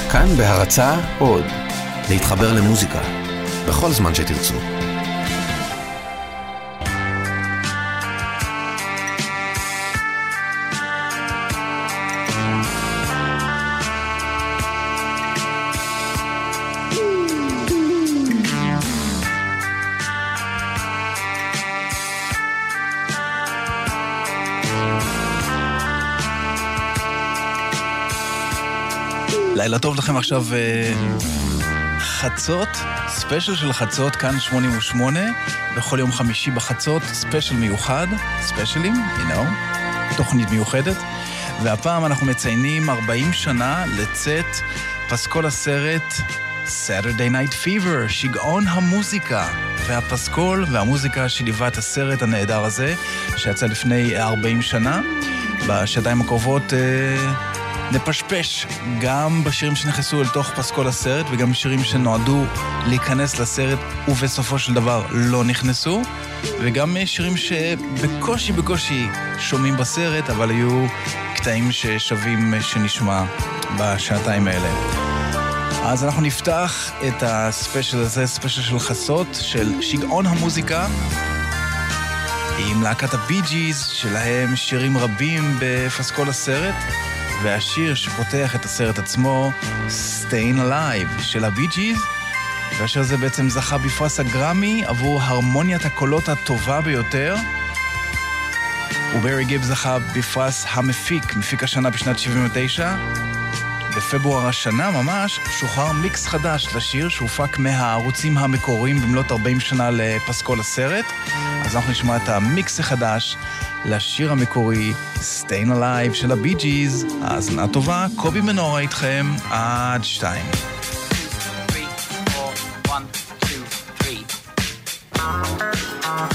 כאן בהרצאה עוד, להתחבר למוזיקה, בכל זמן שתרצו. לילה טוב לכם עכשיו חצות, ספיישל של חצות, כאן 88, בכל יום חמישי בחצות, ספיישל מיוחד, ספיישלים, תוכנית מיוחדת, והפעם אנחנו מציינים 40 שנה לצאת פסקול הסרט Saturday Night Fever, שיגעון המוזיקה, והפסקול והמוזיקה שליווה את הסרט הנהדר הזה, שיצא לפני 40 שנה, בשעתיים הקרובות נפשפש גם בשירים שנכנסו אל תוך פסקול הסרט וגם שירים שנועדו להיכנס לסרט ובסופו של דבר לא נכנסו, וגם שירים שבקושי שומעים בסרט אבל היו קטעים ששווים שנשמע בשעתיים האלה. אז אנחנו נפתח את הספיישל הזה, ספיישל של חצות של שיגעון המוזיקה עם להקת הבי ג'יז, שלהם שירים רבים בפסקול הסרט, והשיר שפותח את הסרט עצמו, Stayin' Alive של הבי ג'יז, והשיר הזה בעצם זכה בפרס הגרמי עבור הרמוניית הקולות הטובה ביותר, וברי גיב זכה בפרס המפיק, מפיק השנה בשנת 79. בפברואר השנה ממש שוחרר מיקס חדש לשיר שהופק מהערוצים המקוריים במלאת 40 שנה לפסקול הסרט, אז אנחנו נשמע את המיקס החדש לשיר המקורי Stayin' Alive של הבי ג'יז. האזנה טובה, קובי מנורה איתכם עד 2. 3, 4, 1,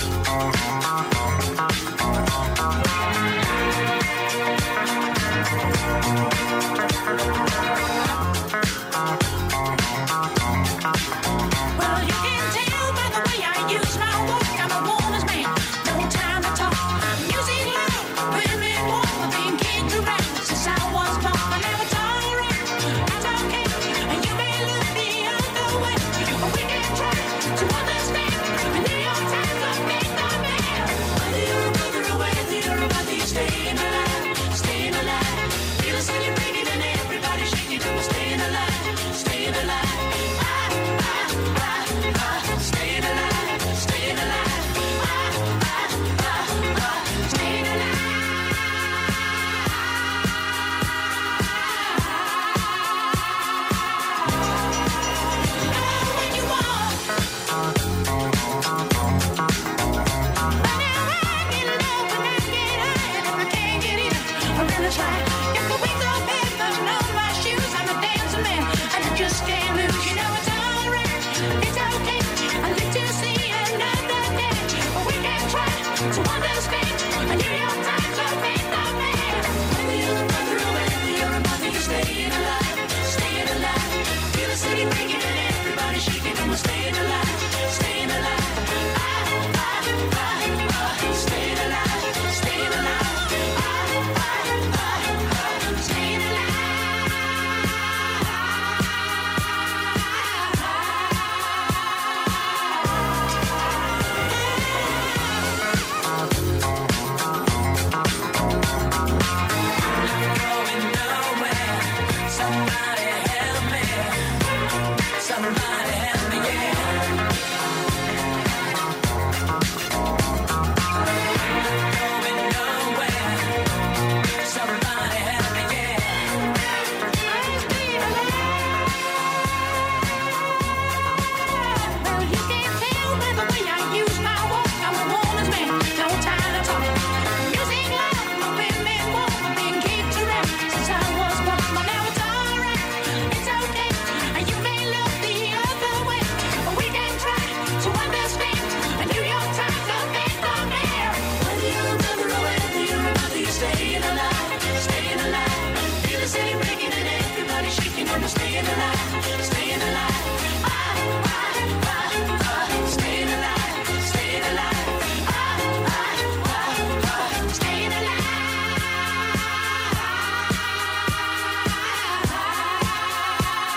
1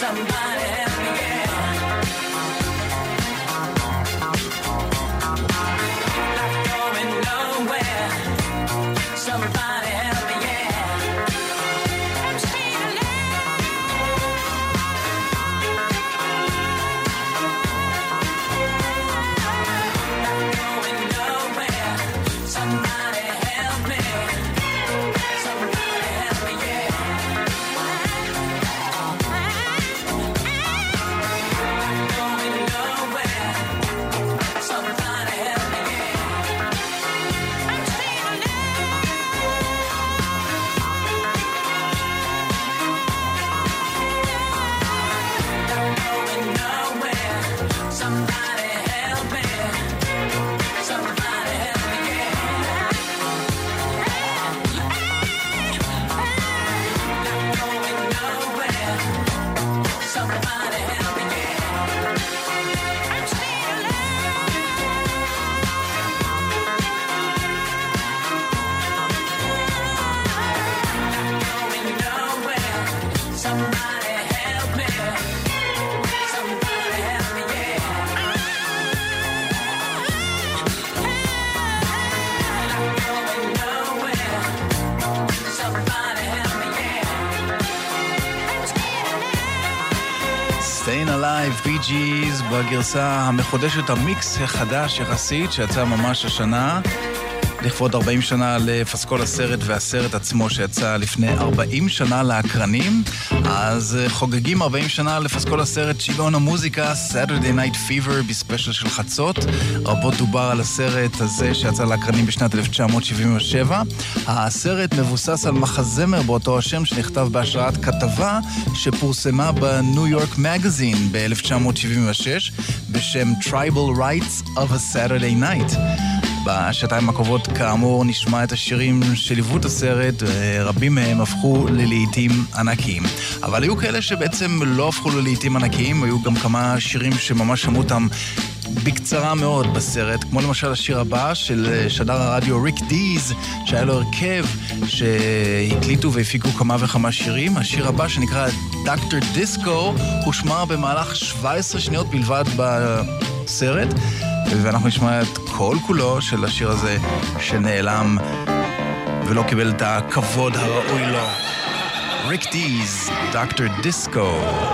Somebody help me, yeah. Not going nowhere. Somebody help me, yeah. I'm staying alive. Not going nowhere. Somebody help me. Somebody help me, yeah. Staying Alive, Bee Gees, בגרסה המחודשת, המיקס החדש יחסית, שיצא ממש השנה, לכבוד 40 שנה לפסקול הסרט, והסרט עצמו שיצא לפני 40 שנה לאקרנים. אז חוגגים 40 שנה לפסקול הסרט שיגעון המוזיקה, Saturday Night Fever בספיישל של חצות. רבות דובר על הסרט הזה שיצא לאקרנים בשנת 1977. הסרט מבוסס על מחזמר באותו השם שנכתב בהשראת כתבה שפורסמה בניו יורק מגזין ב-1976 בשם Tribal Rights of a Saturday Night. בשעתיים הקרובות כאמור נשמע את השירים שליוו את הסרט, רבים מהם הפכו ללהיטים ענקיים. אבל היו כאלה שבעצם לא הפכו ללהיטים ענקיים, היו גם כמה שירים שממש שמעו אותם בקצרה מאוד בסרט, כמו למשל השיר הבא של שדר הרדיו ריק דיז, שהיה לו הרכב שהקליטו והפיקו כמה וכמה שירים. השיר הבא שנקרא דוקטור דיסקו הושמע במהלך 17 שניות בלבד בסרט, ואנחנו נשמע את כל כולו של השיר הזה שנעלם ולא קיבל את הכבוד הראוי לו. ריק דיז, דוקטור דיסקו.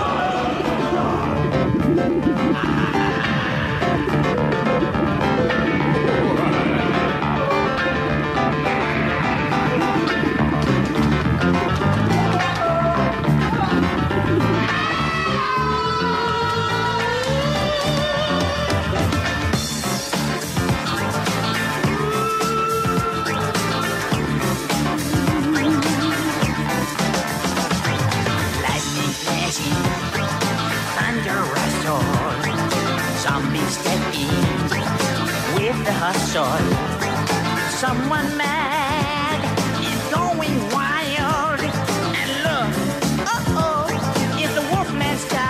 Someone mad is going wild, and look, it's the Wolfman's child.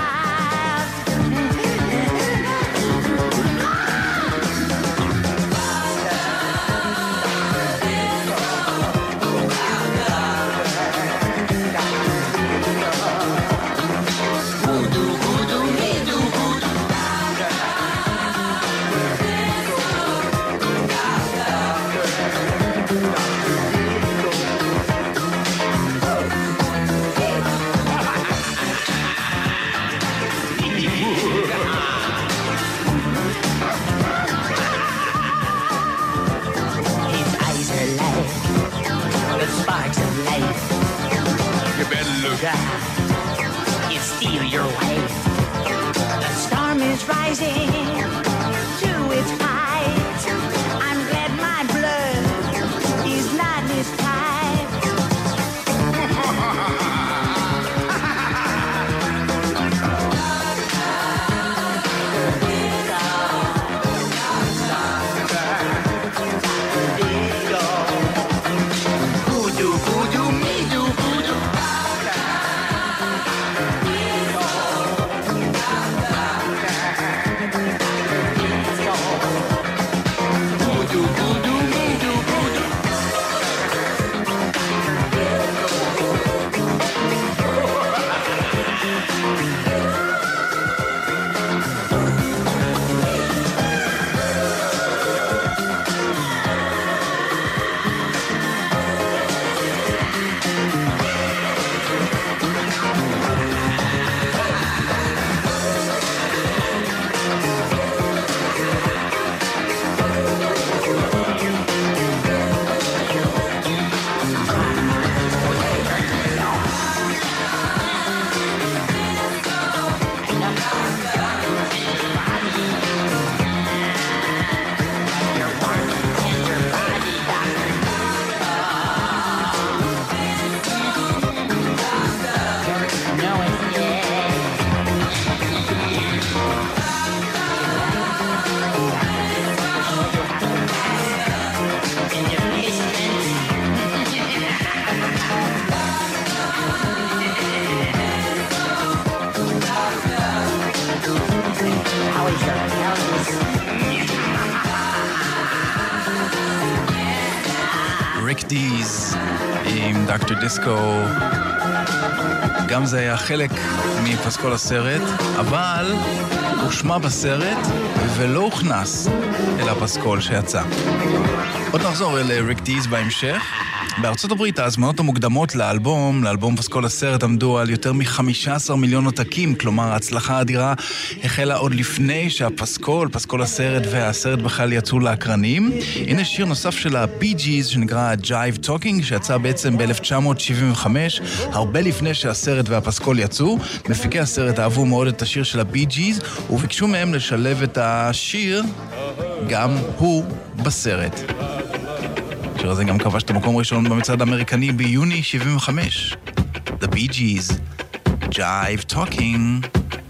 Steal your life. The storm is rising to its height. I'm glad my blood is not this tight. דיז עם דוקטור דיסקו. גם זה היה חלק מפסקול הסרט, אבל הוא שמע בסרט ולא הוכנס אל הפסקול שיצא. עוד נחזור אל ריק דיז בהמשך. בארצות הברית ההזמנות המוקדמות לאלבום פסקול הסרט עמדו על יותר מ-15 מיליון עותקים, כלומר ההצלחה האדירה החלה עוד לפני פסקול הסרט והסרט בכלל יצאו לאקרנים. הנה שיר נוסף של הבי ג'יז שנקרא Jive Talking, שיצא בעצם ב-1975, הרבה לפני שהסרט והפסקול יצאו. מפיקי הסרט אהבו מאוד את השיר של הבי ג'יז וביקשו מהם לשלב את השיר גם הוא בסרט. השיר הזה גם כבש את המקום ראשון במצעד האמריקני ביוני 75. The Bee Gees, Jive Talking.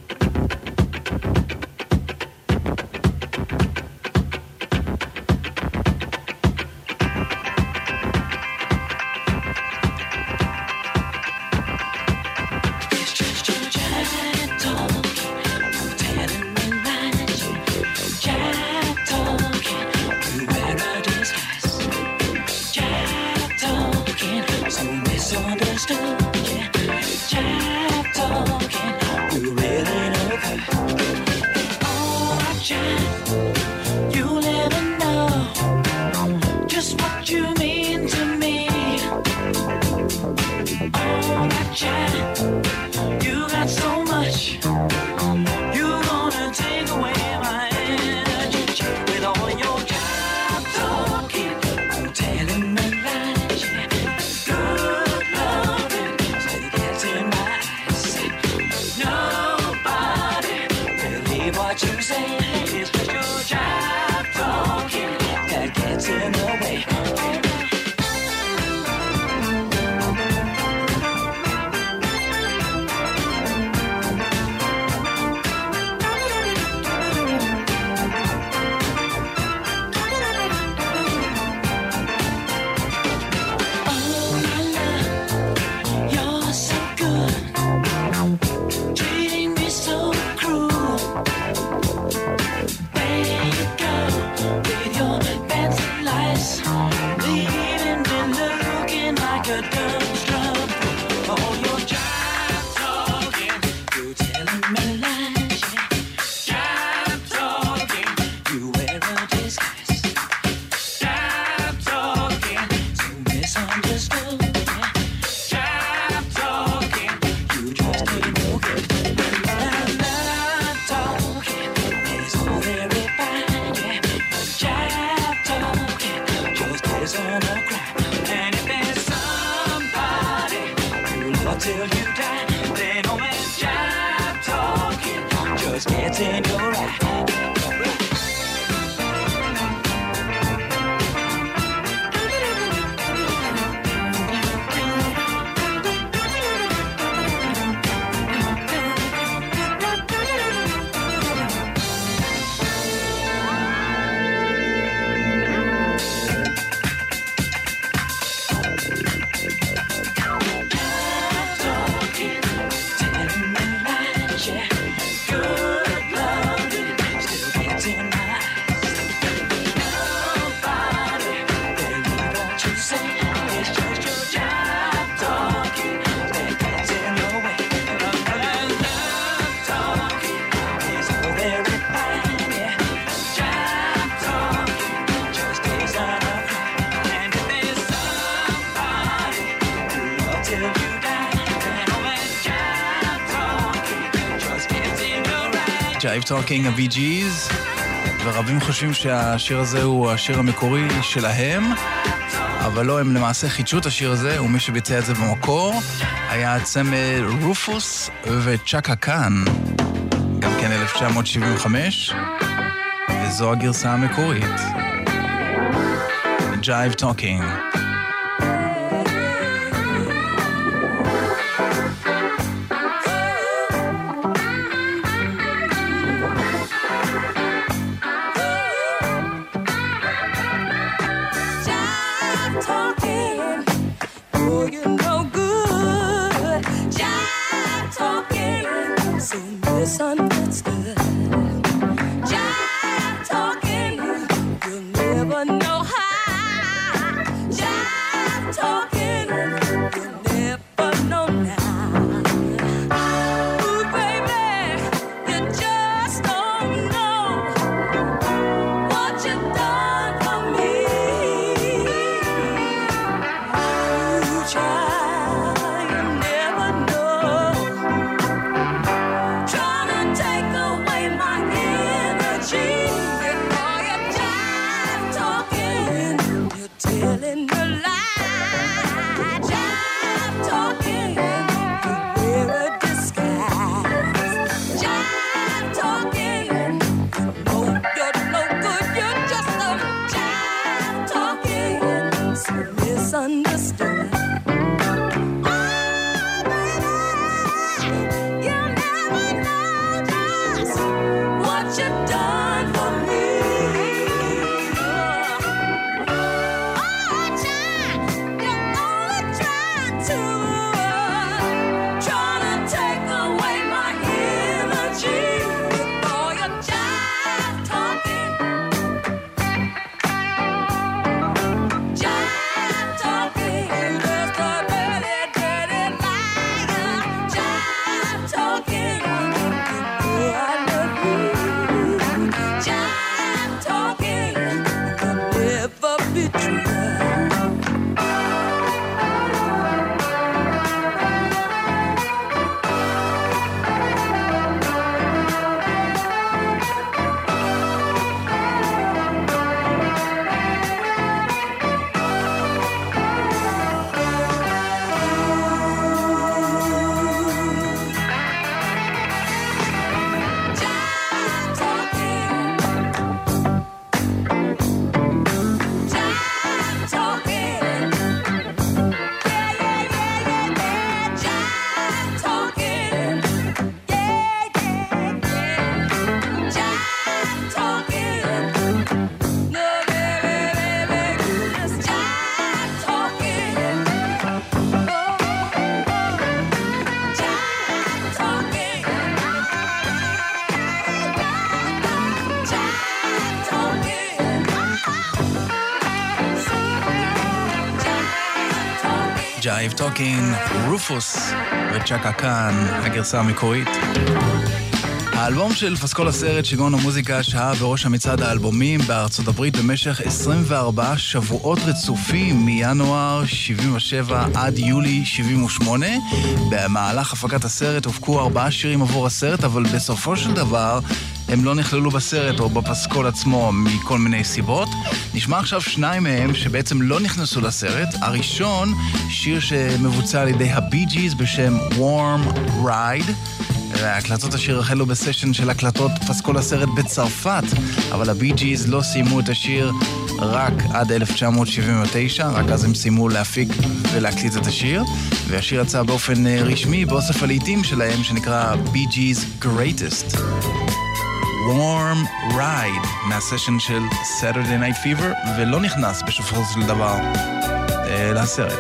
Jive Talking, הבי ג'יז, ורבים חושבים שהשיר הזה הוא השיר המקורי שלהם, אבל לא, הם למעשה חידשו את השיר הזה, ומי שביצע את זה במקור היה הצמד רופוס וצ'קה קאן, גם כן 1975, וזו הגרסה המקורית. Jive Talking. Jive talking, you'll never know how. Jive Jive Talking, רופוס וצ'קה קאן, הגרסה המקורית. האלבום של פסקול הסרט שיגעון המוזיקה שהה בראש המצעד האלבומים בארצות הברית במשך 24 שבועות רצופים מינואר 77 עד יולי 78. במהלך הפקת הסרט הופקו 4 שירים עבור הסרט, אבל בסופו של דבר הם לא נכללו בסרט או בפסקול עצמו מכל מיני סיבות. נשמע עכשיו 2 מהם שבעצם לא נכנסו לסרט. הראשון, שיר שמבוצע על ידי הבי ג'יז בשם Warm Ride. הקלטות השיר החלו בסשן של הקלטות פסקול הסרט בצרפת, אבל הבי ג'יז לא סיימו את השיר רק עד 1979, רק אז הם סיימו להפיק ולהקליט את השיר, והשיר יצא באופן רשמי באוסף הלעיתים שלהם שנקרא בי ג'יז Greatest. Warm Ride מהסשן של Saturday Night Fever, ולא נכנס בסופו של דבר לסרט.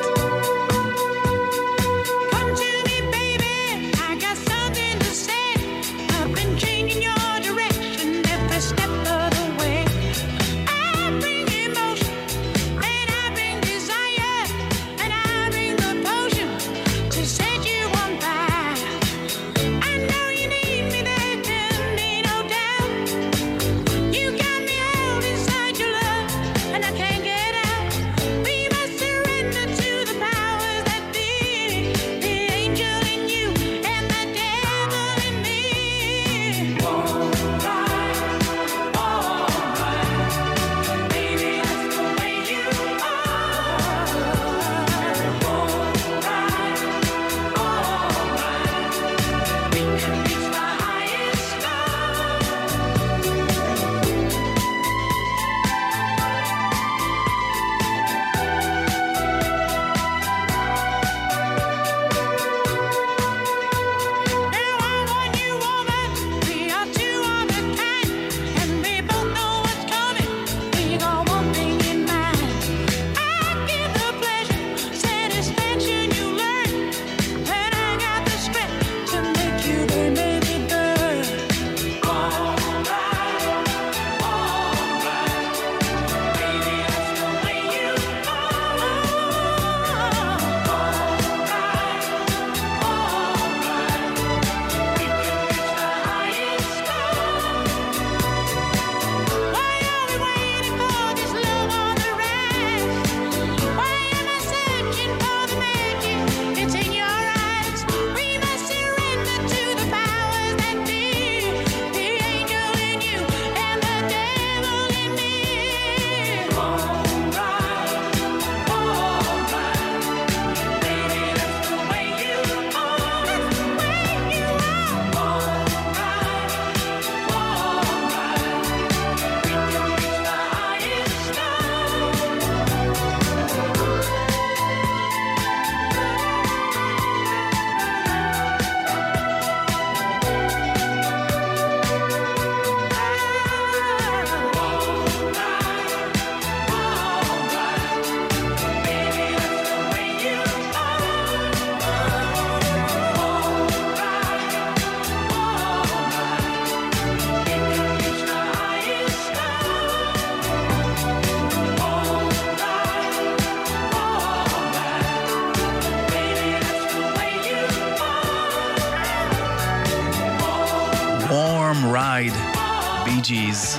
בי ג'יז.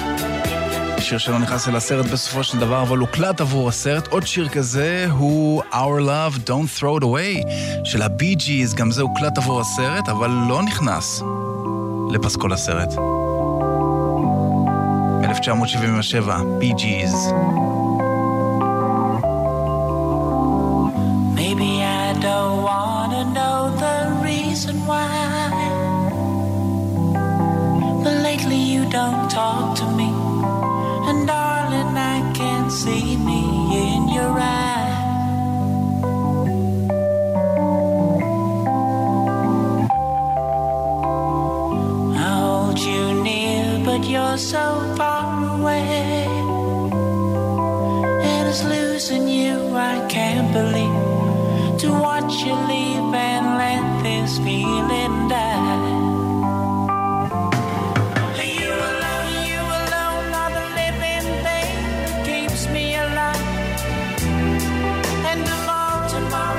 שיר שלא נכנס אל הסרט בסופו של דבר, אבל הוקלט עבור הסרט. עוד שיר כזה הוא Our Love Don't Throw It Away של הבי ג'יז, גם זה הוקלט עבור הסרט, אבל לא נכנס לפסקול הסרט. 1977, בי ג'יז. Maybe I don't wanna know the reason why, but lately you don't talk to me, and darling I can see me in your eyes. I hold you near but you're so far away, and it's losing you I can't believe, to watch you leave and let this feeling die. You alone are the living thing that keeps me alive. And tomorrow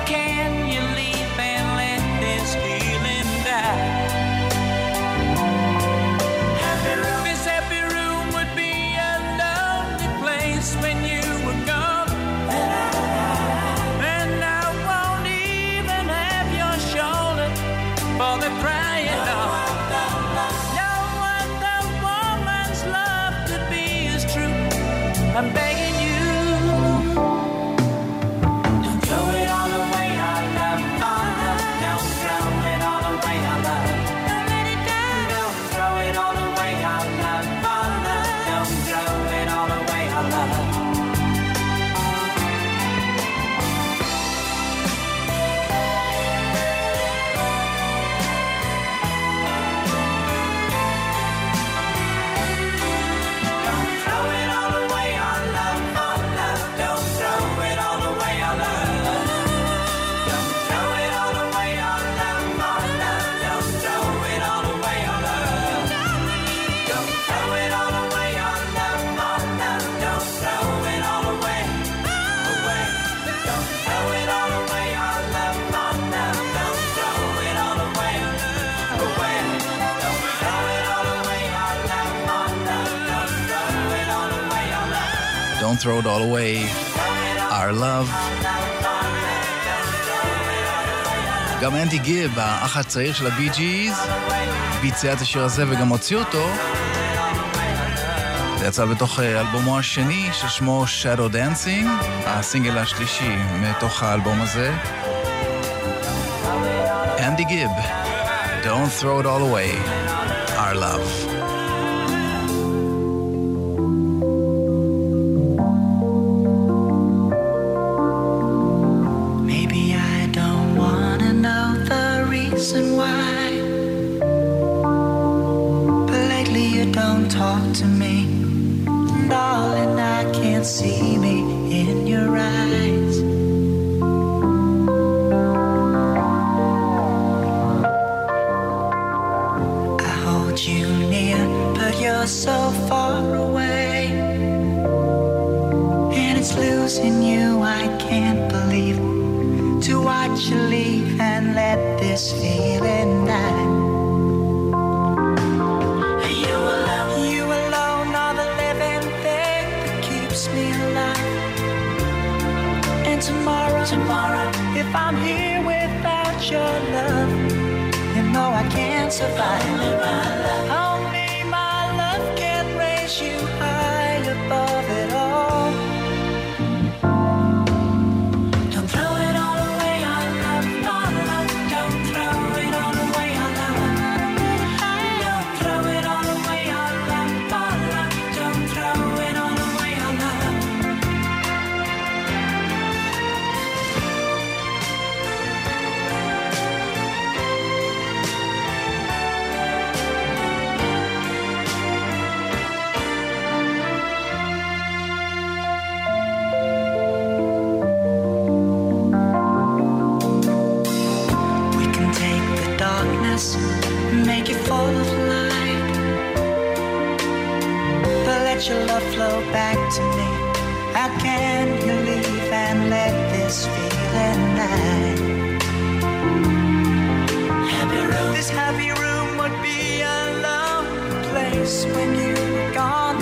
can you leave and let this feeling die? This happy room would be a lonely place when you were gone. And I won't even have your shoulder for the crying on. No other woman's love could be as true. I'm begging you. Don't throw it all away, our love, our love. Don't throw it all away, our love. Don't let it go. Don't throw it all away, our love, our love. Don't throw it all away, our love. Don't throw it all away, our love. גם אנדי גיב, האח הצעיר של הבי ג'יז, ביצע את השיר הזה וגם הוציא אותו. זה יצא בתוך אלבומו השני ששמו Shadow Dancing, הסינגל השלישי מתוך האלבום הזה. אנדי גיב, Don't throw it all away, our love. Talk to me, darling, I can't see me in your eyes. I hold you near, but you're so far away, and it's losing you, I can't believe, to watch you leave and let this feeling die. Tomorrow, if I'm here without your love, you know I can't survive. Only my love can raise you high above it all. Don't throw it all away, our love, our love. Don't throw it all away, our love. Don't throw it all away, our love, our love. Don't throw it all away, our love. Make it full of light, but let your love flow back to me. How can you leave and let this feeling die? This happy room would be a lonely place when you're gone,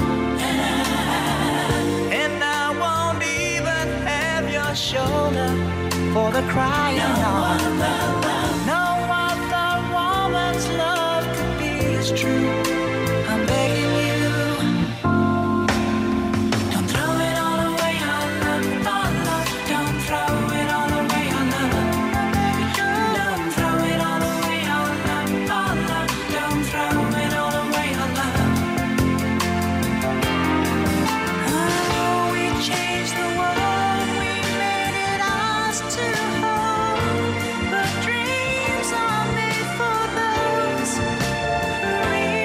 and I won't even have your shoulder for the crying on. No other woman's love could be as true. I'm begging you. Don't throw it all away, our love, our love. Don't throw it all away, our love. Don't throw it all away, our love, our love. Don't throw it all away, our love. Oh, we changed the world, we made it ours to hold. But dreams are made for those who reach.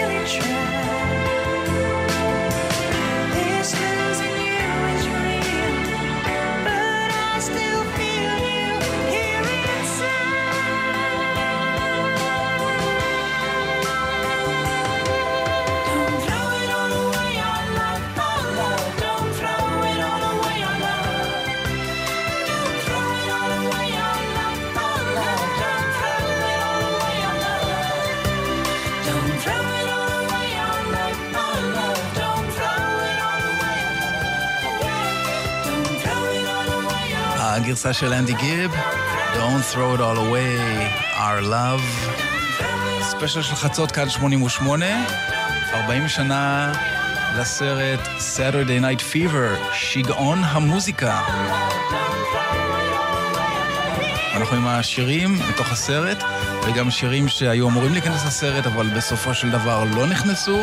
הגרסה של אנדי גיב, Don't throw it all away, our love. ספיישל של חצות כאן 88, 40 שנה לסרט Saturday Night Fever, שיגעון המוזיקה. אנחנו עם השירים מתוך הסרט, וגם שירים שהיו אמורים להיכנס לסרט, אבל בסופו של דבר לא נכנסו.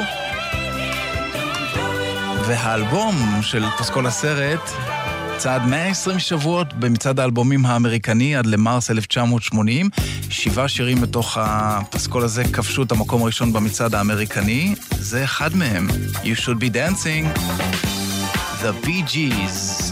והאלבום של פסקול הסרט צעד 120 שבועות במצעד האלבומים האמריקני עד למרס 1980. 7 שירים מתוך הפסקול הזה כבשו את המקום הראשון במצעד האמריקני. זה אחד מהם. You should be dancing. The Bee Gees.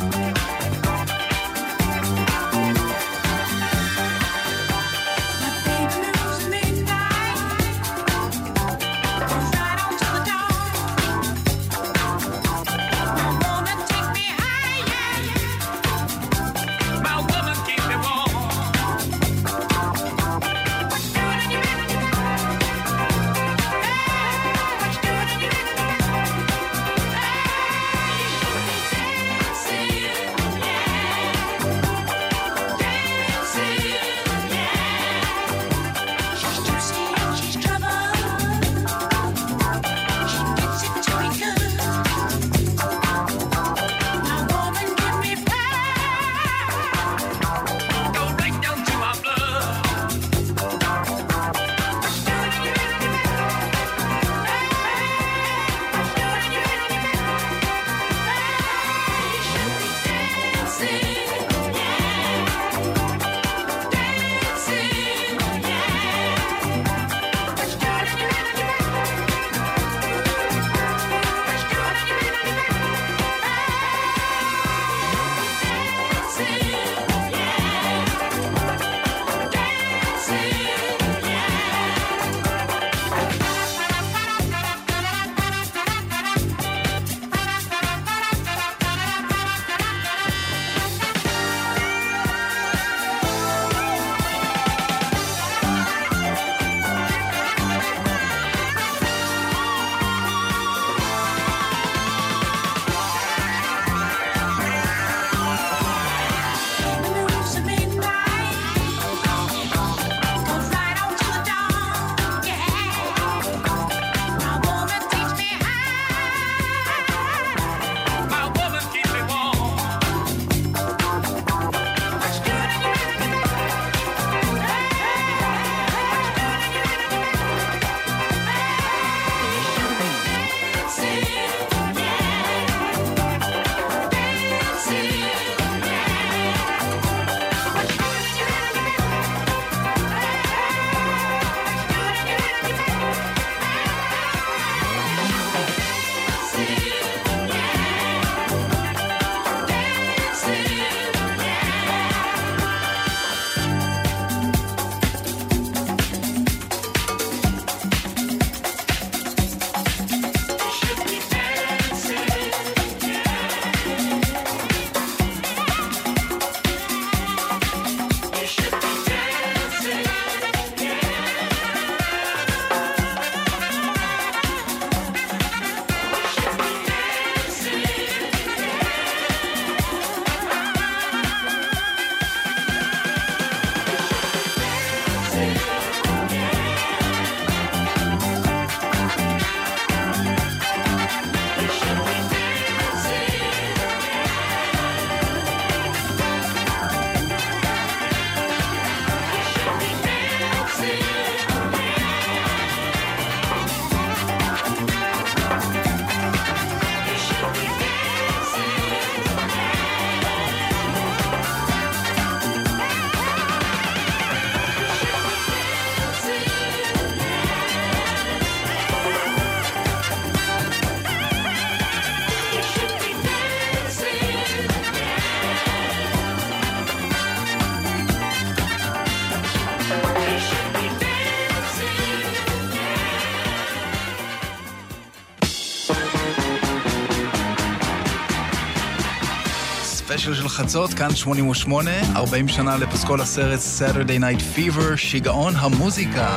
ספיישל של חצות, כאן 88, 40 שנה לפסקול הסרט Saturday Night Fever, שיגעון המוזיקה.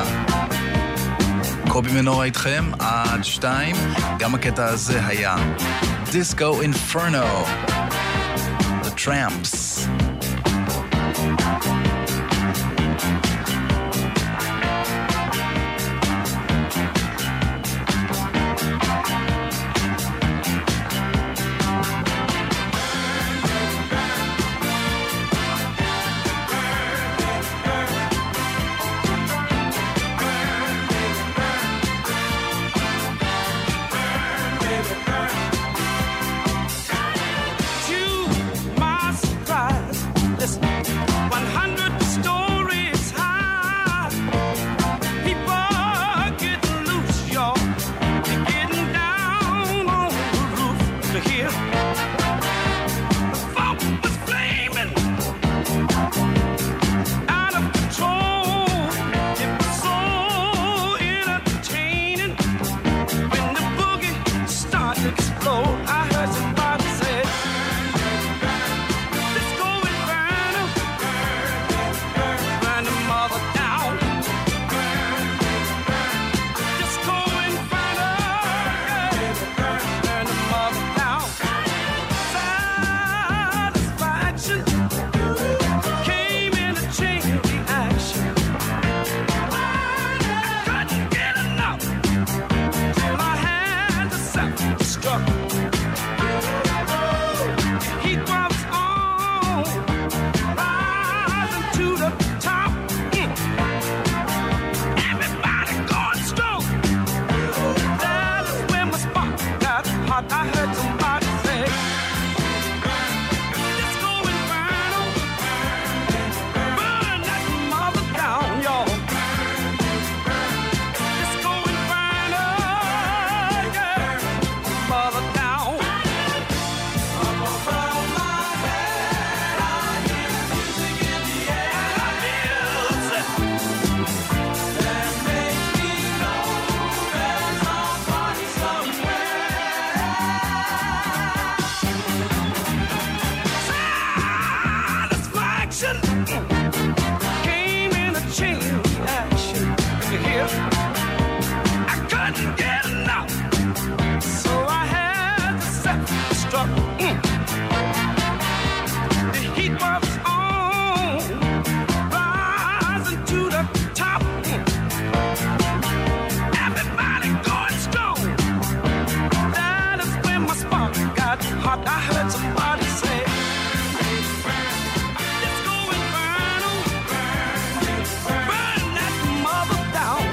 קובי מנורה איתכם עד 2, גם הקטע הזה היה Disco Inferno, The Tramps. hear? The funk was flaming, out of control. It was so entertaining. When the boogie started to explode, I heard somebody say, "Disco Inferno, burn the mother down." Disco Inferno, burn the mother down. Satisfaction came in a chain reaction. I couldn't get enough till I had to self-destruct. Heat was on, rising to the top. Everybody going strong. That is when my spark got hot. I heard somebody say, "Disco Inferno, burn that mother down, y'all." Disco Inferno, yeah, mother down. Up above my head, I hear music in the air. Music that makes me know there's a party somewhere. Satisfaction came in a chain reaction. You hear? I couldn't get enough, so I had to self-destruct. The heat was on, rising to the top. Everybody going strong. That is when my spark got hot. I heard somebody say, "Disco Inferno, burn that mother down."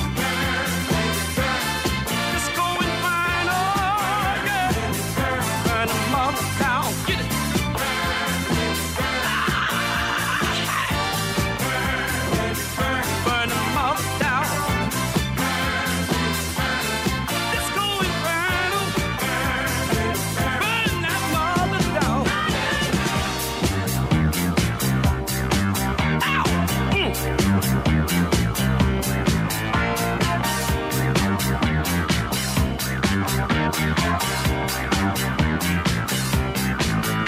Disco Inferno, yeah, burn the mother down. Get it. Burn the mother down. Disco Inferno, burn that mother down. Ow!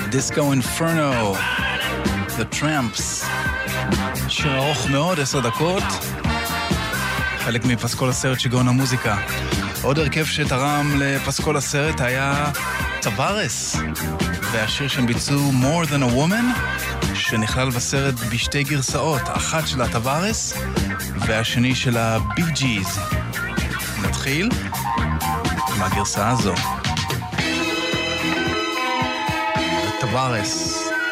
Disco Inferno, The Tramps. שיר ארוך מאוד, 10 דקות. חלק מפסקול הסרט שיגעון המוזיקה. עוד הרכב שתרם לפסקול הסרט היה טווארס, והשיר שהם ביצעו More Than a Woman, שנכלל בסרט בשתי גרסאות, אחת של הטווארס והשני של הבי ג'יז. נתחיל עם הגרסה הזו. טווארס.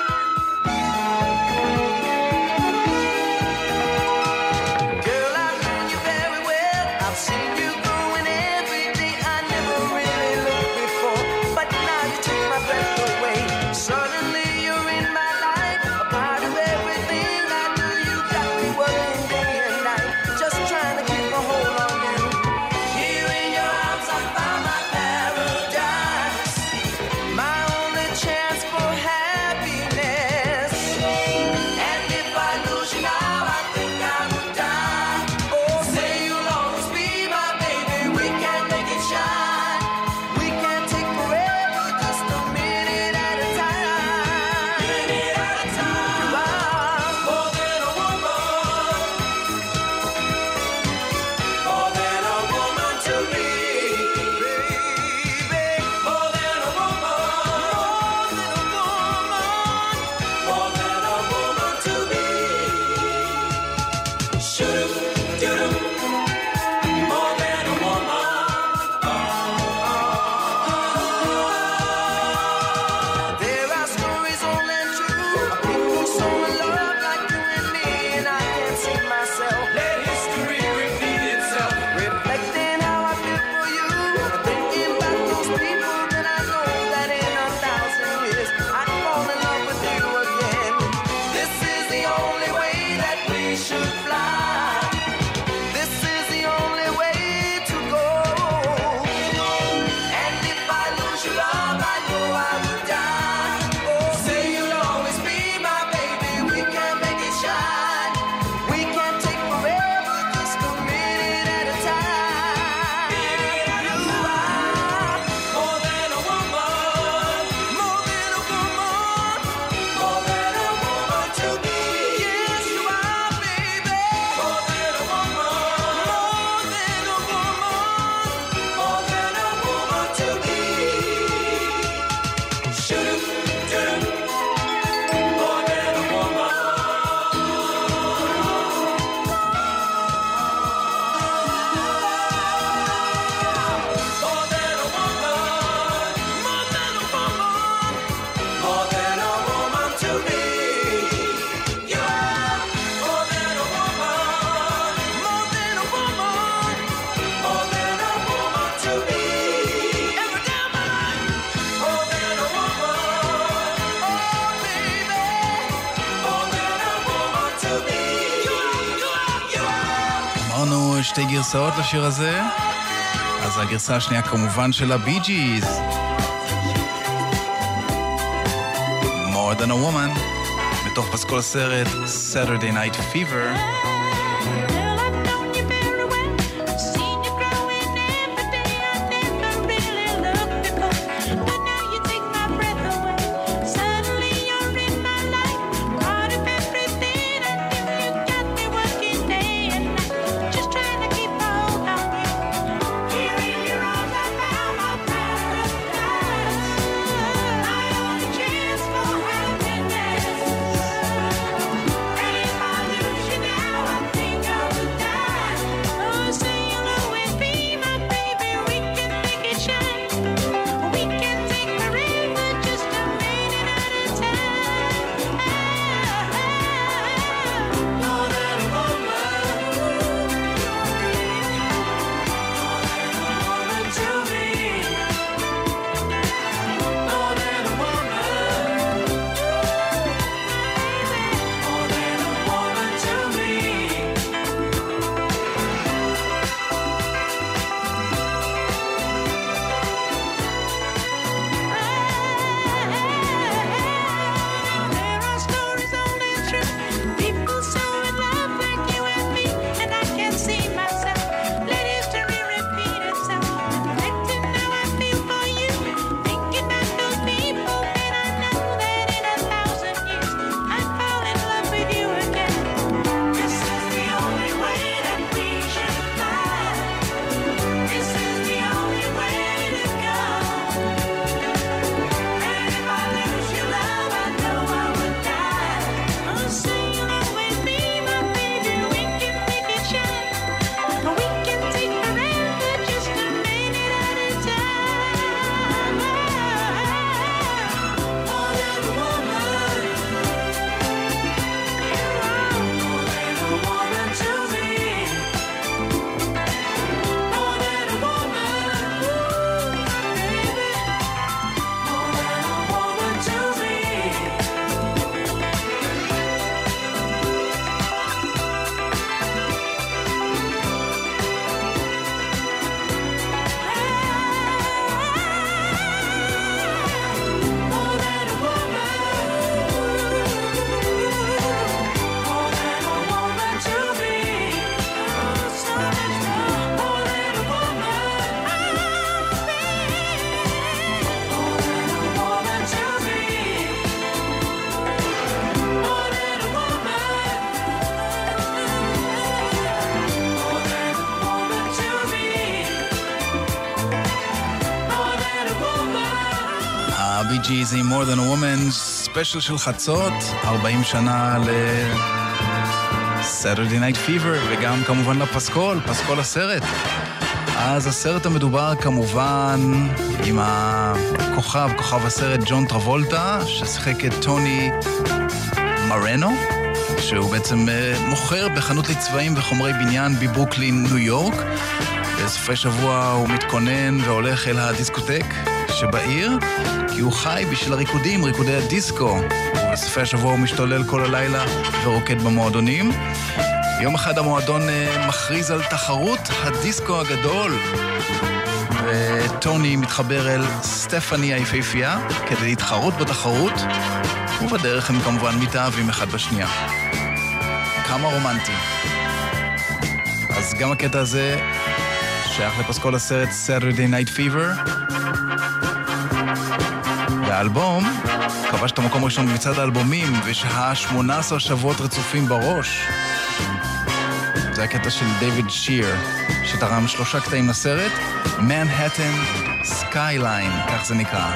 שתי גרסאות לשיר הזה. אז הגרסה השנייה כמובן של הבי ג'יז, More Than a Woman, מתוך פסקול הסרט Saturday Night Fever. Now Gees עם More Than a Woman, ספיישל של חצות, 40 שנה Saturday Night Fever, וגם כמובן לפסקול, פסקול הסרט. אז הסרט המדובר כמובן עם כוכב הסרט ג'ון טרבולטה, ששיחק את טוני מרנו, שהוא בעצם מוכר בחנות לצבעים וחומרי בניין בברוקלין, ניו יורק. בסופי שבוע הוא מתכונן והולך אל הדיסקוטק שבעיר, כי הוא חי בשביל ריקודי הדיסקו. ובסופי השבוע הוא משתולל כל הלילה ורוקד במועדונים. יום אחד המועדון מכריז על תחרות הדיסקו הגדול, וטוני מתחבר אל סטפני היפהפייה כדי להתחרות בתחרות, ובדרך הם כמובן מתאהבים אחד בשנייה. כמה רומנטי. אז גם הקטע הזה שייך לפסקול הסרט Saturday Night Fever. והאלבום כבש את המקום הראשון במצעד האלבומים, ושהה 18 שבועות רצופים בראש. זה הקטע של דיוויד שיר, שתרם 3 קטעים לסרט, Manhattan Skyline, כך זה נקרא.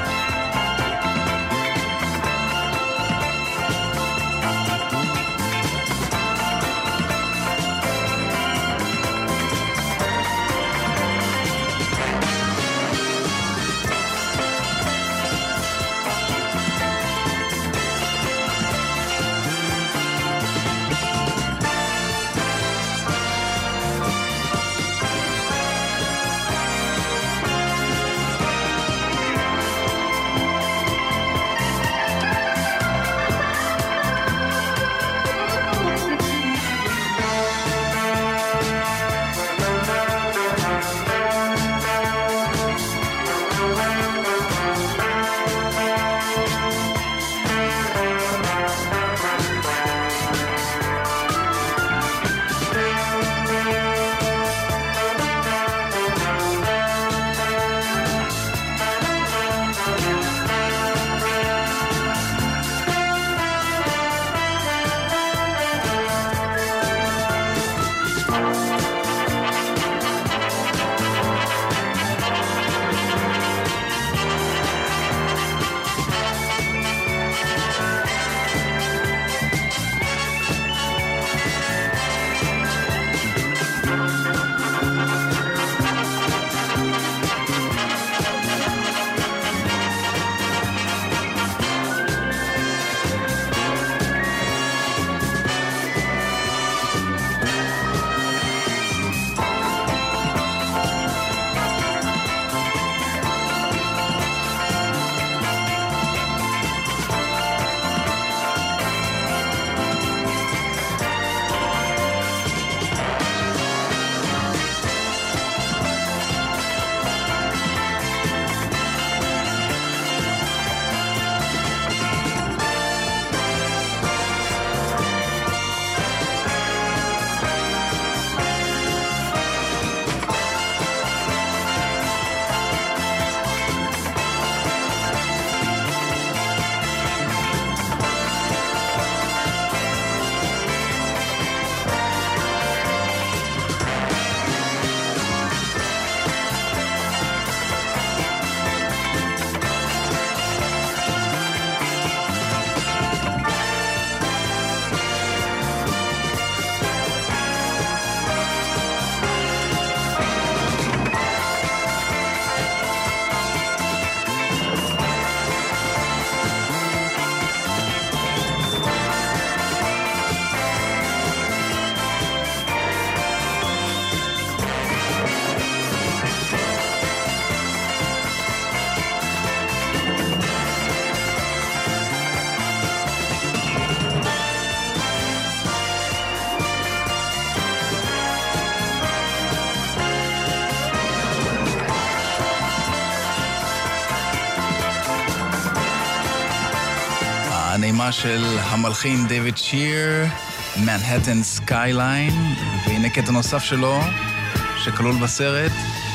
הנעימה של המלחין דיוויד שיר, Manhattan Skyline, והנה קטע נוסף שלו שכלול בסרט,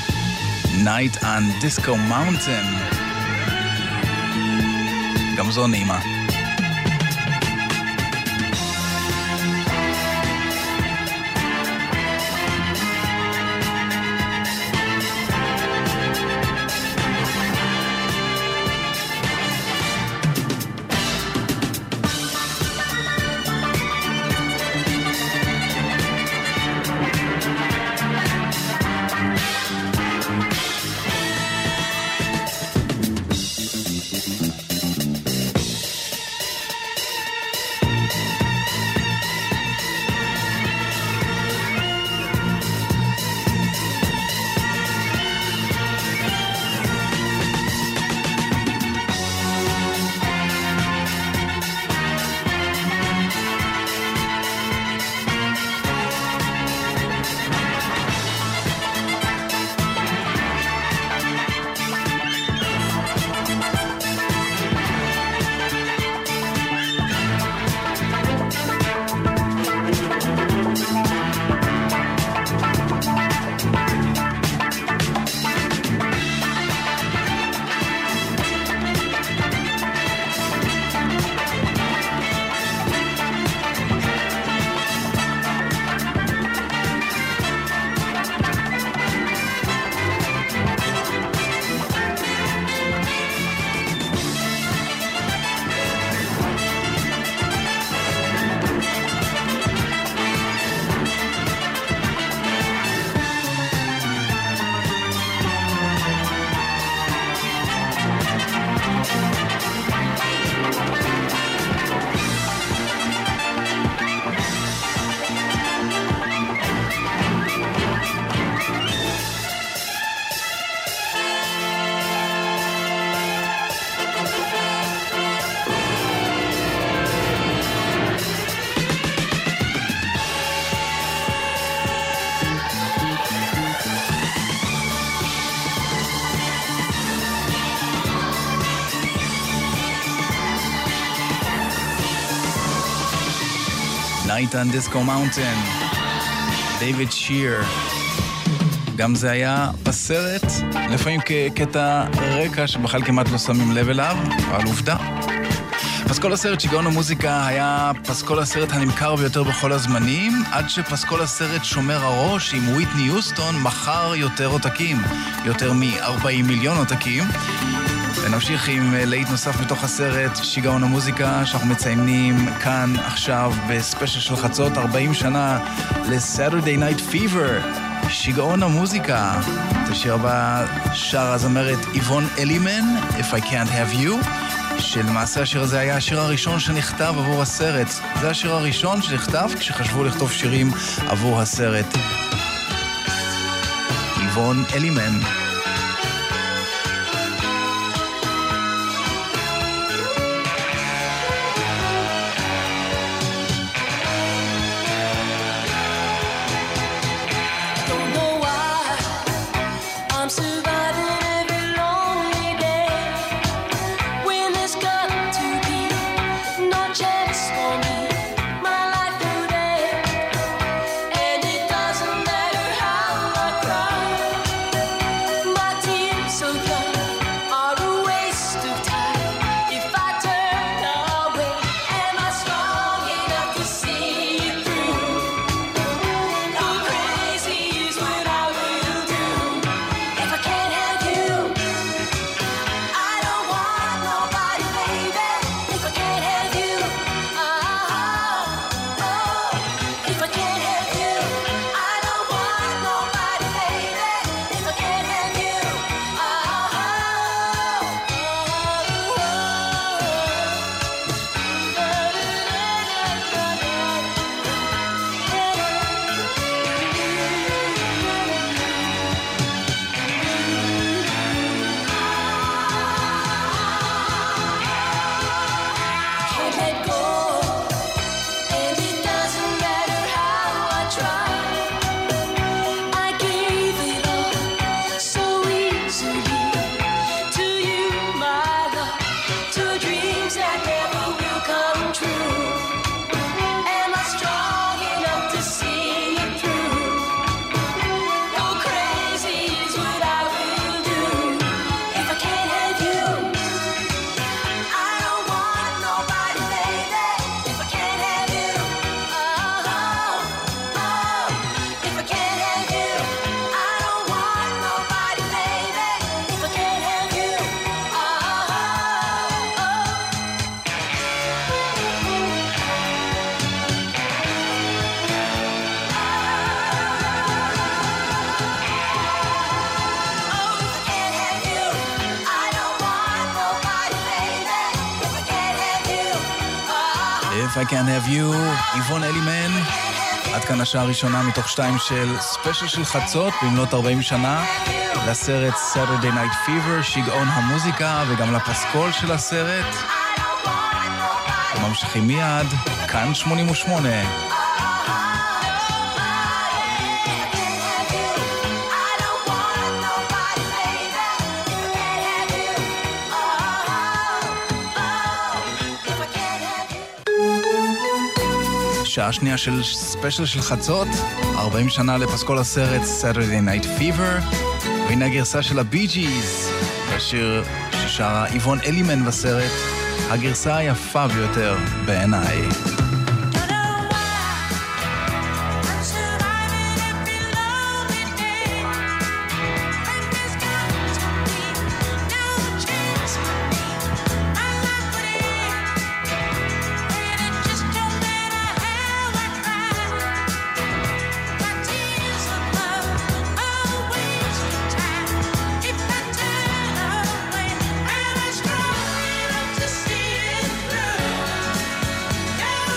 Night on Disco Mountain. גם זו נעימה. Night on Disco Mountain, דיוויד שיר. גם זה היה בסרט, לפעמים כקטע רקע שבכלל כמעט לא שמים לב אליו, אבל עובדה. פסקול הסרט שיגעון המוזיקה היה פסקול הסרט הנמכר ביותר בכל הזמנים, עד שפסקול הסרט שומר הראש עם וויטני יוסטון מכר יותר עותקים, יותר מ-40 מיליון עותקים. ונמשיך עם להיט נוסף מתוך הסרט שיגעון המוזיקה, שאנחנו מציינים כאן עכשיו בספיישל של חצות 40 שנה ל-Saturday Night Fever, שיגעון המוזיקה. את השיר הבא שר הזמרת איבון אלימן, If I Can't Have You, שלמעשה השיר הזה היה השיר הראשון שנכתב עבור הסרט. זה השיר הראשון שנכתב כשחשבו לכתוב שירים עבור הסרט. איבון אלימן. If I Can't Have You, איבון אלימן. עד כאן השעה הראשונה מתוך 2 של ספיישל של חצות במלאת 40 שנה לסרט Saturday Night Fever, שיגעון המוזיקה, וגם לפסקול של הסרט. וממשיכים מיד, כאן 88. שעה שנייה של ספיישל של חצות, 40 שנה לפסקול הסרט Saturday Night Fever, והנה הגרסה של הבי ג'יז, השיר ששרה איבון אלימן בסרט, הגרסה היפה ביותר בעיניי. Yeah.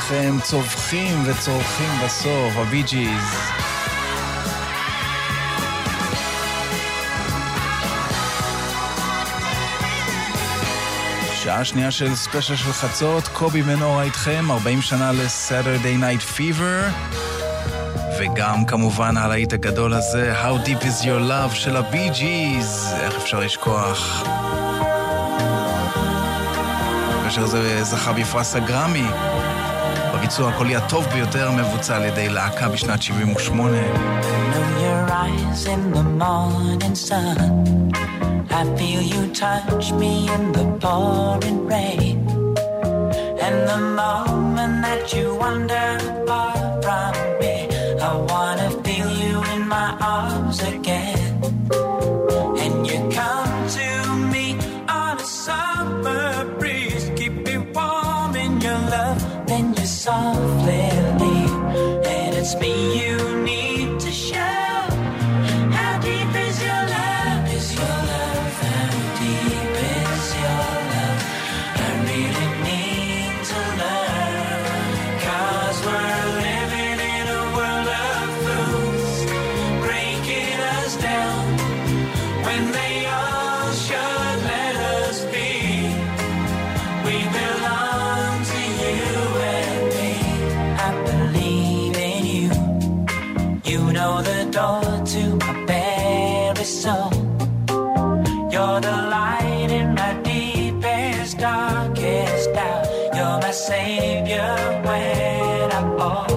איתכם צווחים וצורכים בסוף, הבי ג'יז. שעה שנייה של ספיישל של חצות, קובי מנורה איתכם, 40 שנה ל-Saturday Night Fever, וגם כמובן הלהיט הגדול הזה, How Deep Is Your Love של הבי ג'יז, איך אפשר לשכוח. כאשר זה זכה בפרס הגרמי, בביצוע הקולי הטוב ביותר מבוצע על ידי להקה בשנת 78. Your eyes in the morning sun, I feel you touch me in the pouring rain, and the moment that you wander far from me, I wanna feel you in my arms again. And you come to me on a summer breeze, keep me warm in your love, then you softly leave, and it's me you need to show. How deep is your love? Is your love? How deep is your love? I really need to learn, 'cause we're living in a world of fools, breaking us down when they all should let us be. We belong to you and me. I believe in you. You know the door to my very soul. You're the light in my deepest, darkest doubt. You're my savior when I fall.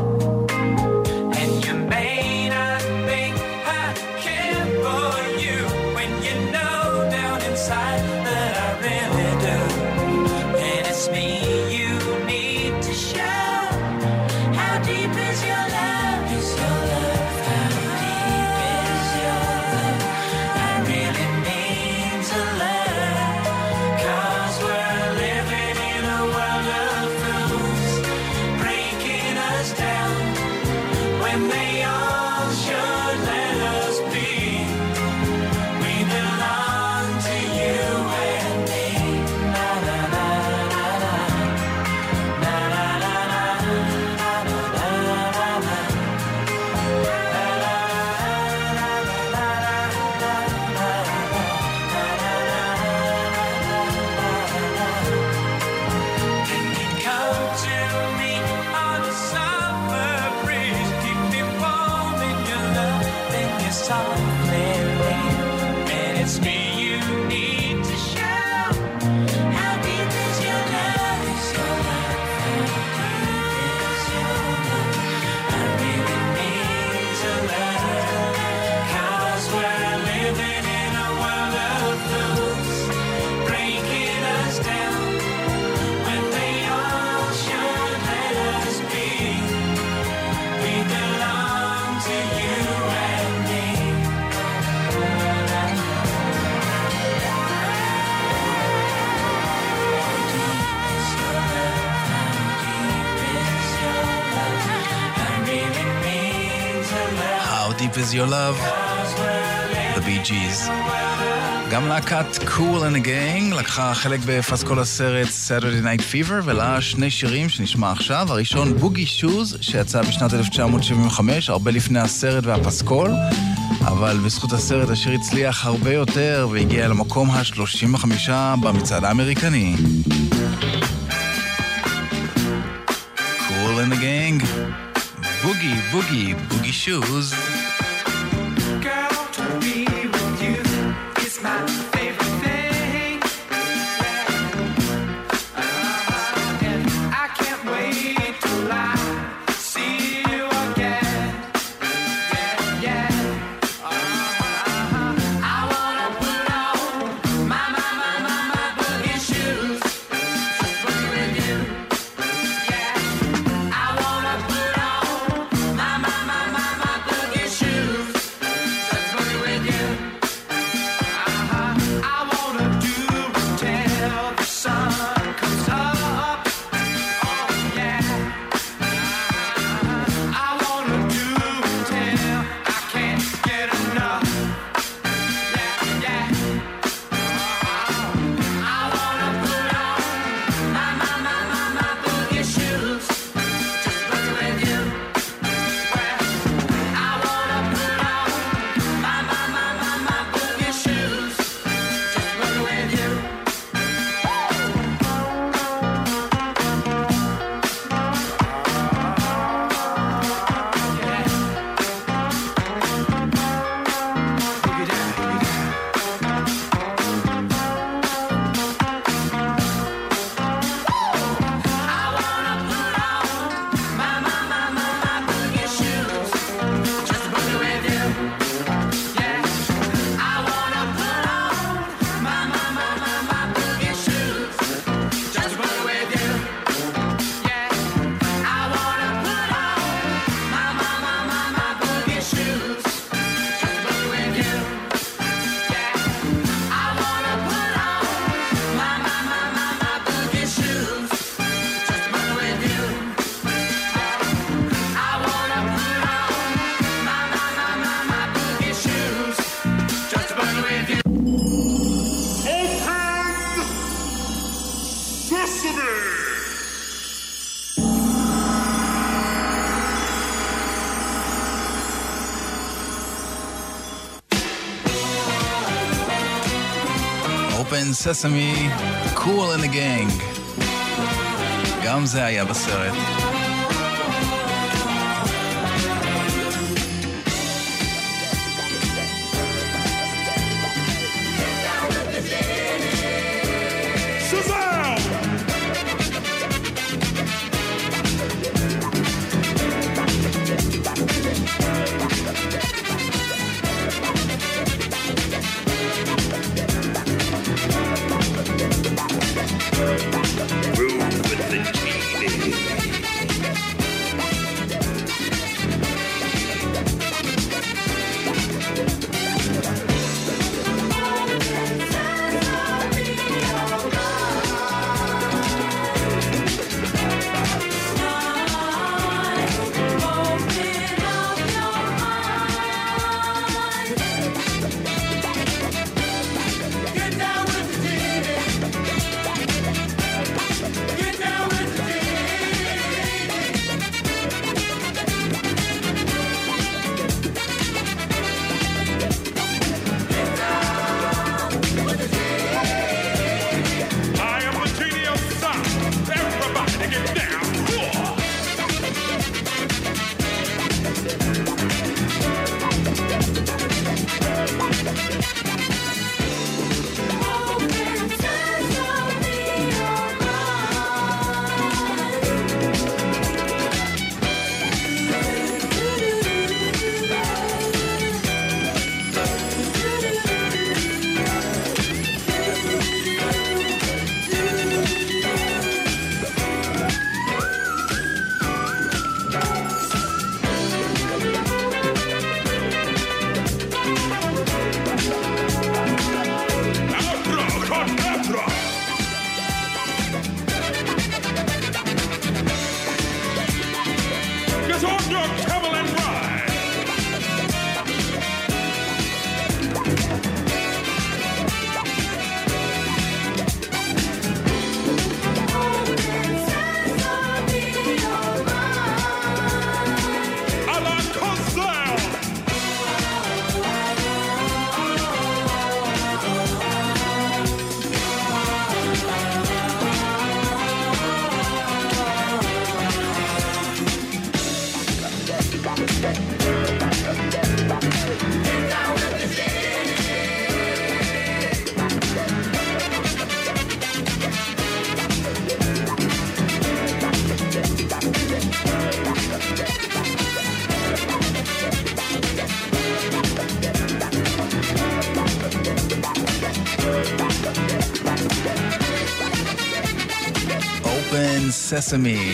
And you may not think I care for you when you know down inside that I really do. And it's me you need to show. How deep is your love? Is your love? How deep is your love? I really need to learn, 'cause we're living in a world of fools, breaking us down when they all should let us be. We belong to you and me. Na na na na na. Na na na na. Na na na na. Come to me on a summer breeze, keep me warm in your love, then you softly leave, and it's me you need to show. How deep is your love? Is your love? How deep is your love? I really need to learn, 'cause we're living in a world of fools, breaking us down when they all should let us be. We belong to you and me. How Deep Is Your Love, The Bee Gees. גם להקת Cool and the Gang לקחה חלק בפסקול הסרט Saturday Night Fever, ולה שני שירים שנשמע עכשיו. הראשון בוגי שוז, שיצא בשנת 1975, הרבה לפני הסרט והפסקול, אבל בזכות הסרט השיר הצליח הרבה יותר והגיע למקום ה-35 במצעד האמריקני. Cool and the Gang, בוגי, בוגי, בוגי שוז. Girl, to be with you is my favorite thing. And I can't wait till I see you again. Yeah, yeah. I wanna put on my boogie shoes, just boogie with you. Yeah, I wanna put on my boogie shoes. Open Sesame, Cool and the Gang. גם זה היה בסרט. Sesame,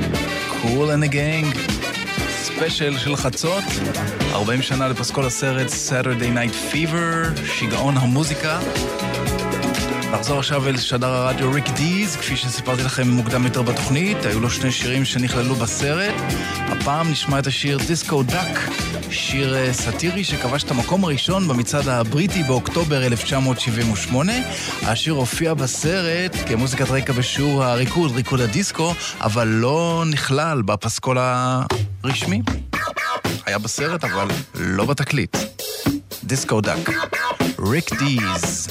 Cool and the Gang, ספיישל של חצות, 40 שנה לפסקול הסרט Saturday Night Fever, שיגעון המוזיקה. נחזור עכשיו אל שדר הרדיו ריק דיז, כפי שסיפרתי לכם מוקדם יותר בתוכנית, היו לו שני שירים שנכללו בסרט. הפעם נשמע את השיר דיסקו דאק, שיר סאטירי שכבש את המקום הראשון במצעד הבריטי באוקטובר 1978. השיר הופיע בסרט כמוזיקת רקע בשיעור ריקוד הדיסקו, אבל לא נכלל בפסקול הרשמי. היה בסרט, אבל לא בתקליט. דיסקו דאק, ריק דיז.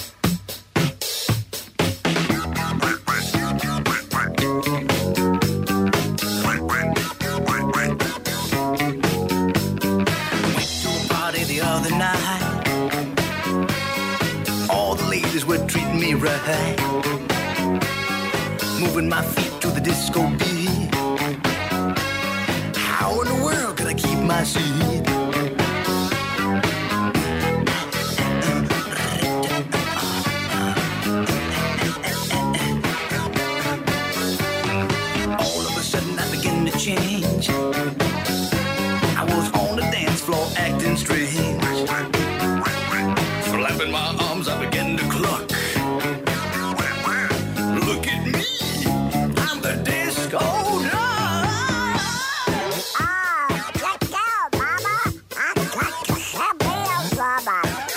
Were treating me right, moving my feet to the disco beat. How in the world could I keep my seat? All of a sudden I began to change. I was on the dance floor acting strange. Flapping my arms, I began to cluck. Look at me, I'm the disco dog. Let go, mama. I'm got to have real mama.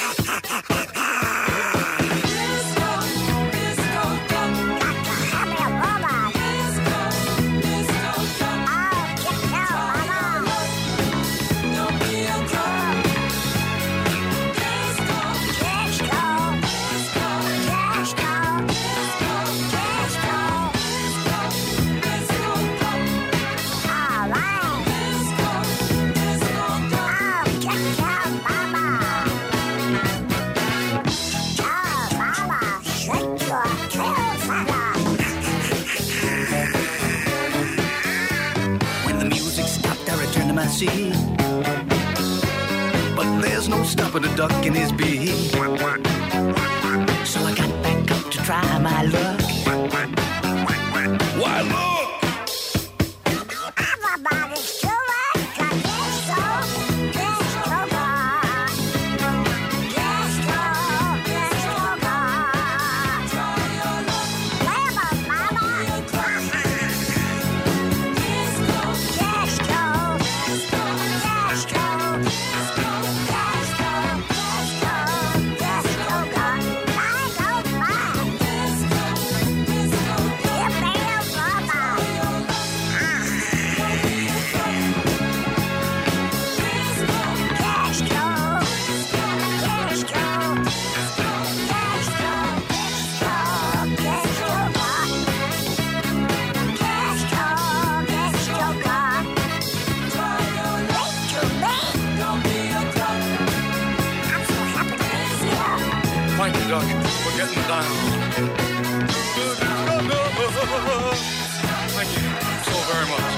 Disco, disco duck. Got to have real mama. Disco, disco duck. Oh, get down, mama. Don't be a drunk. Disco, Disco. I see. But there's no stopping a duck in his beak. So I got back up to try my luck. Why look? Everybody's too much, 'cause it's so good. Let's go, let's go, Wherever, mama. Let's go, let's go, let's go, let's go, let's go, let's go, let's go, God. I don't mind. Let's go, yeah, man, mama. Thank you, Duck. We're getting down. Thank you so very much.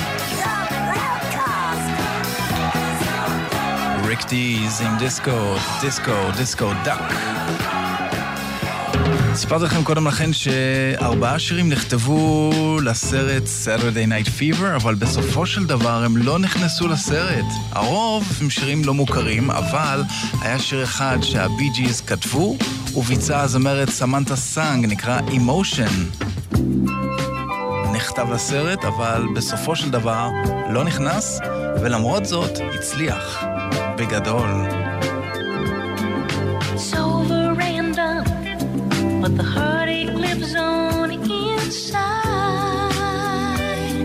ריק דיז עם דיסקו דאק. סיפרתי לכם קודם לכן ש4 שירים נכתבו לסרט Saturday Night Fever, אבל בסופו של דבר הם לא נכנסו לסרט. הרוב הם שירים לא מוכרים, אבל היה שיר אחד שהבי ג'יז כתבו, וביצעה הזמרת סמנתה סאנג, נקרא Emotion. נכתב לסרט, אבל בסופו של דבר לא נכנס, ולמרות זאת הצליח. בגדול. It's over and done, but the heartache lives on inside.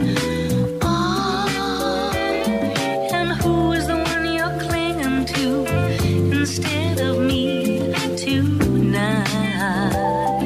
Oh, and who is the one you're clinging to instead of me tonight?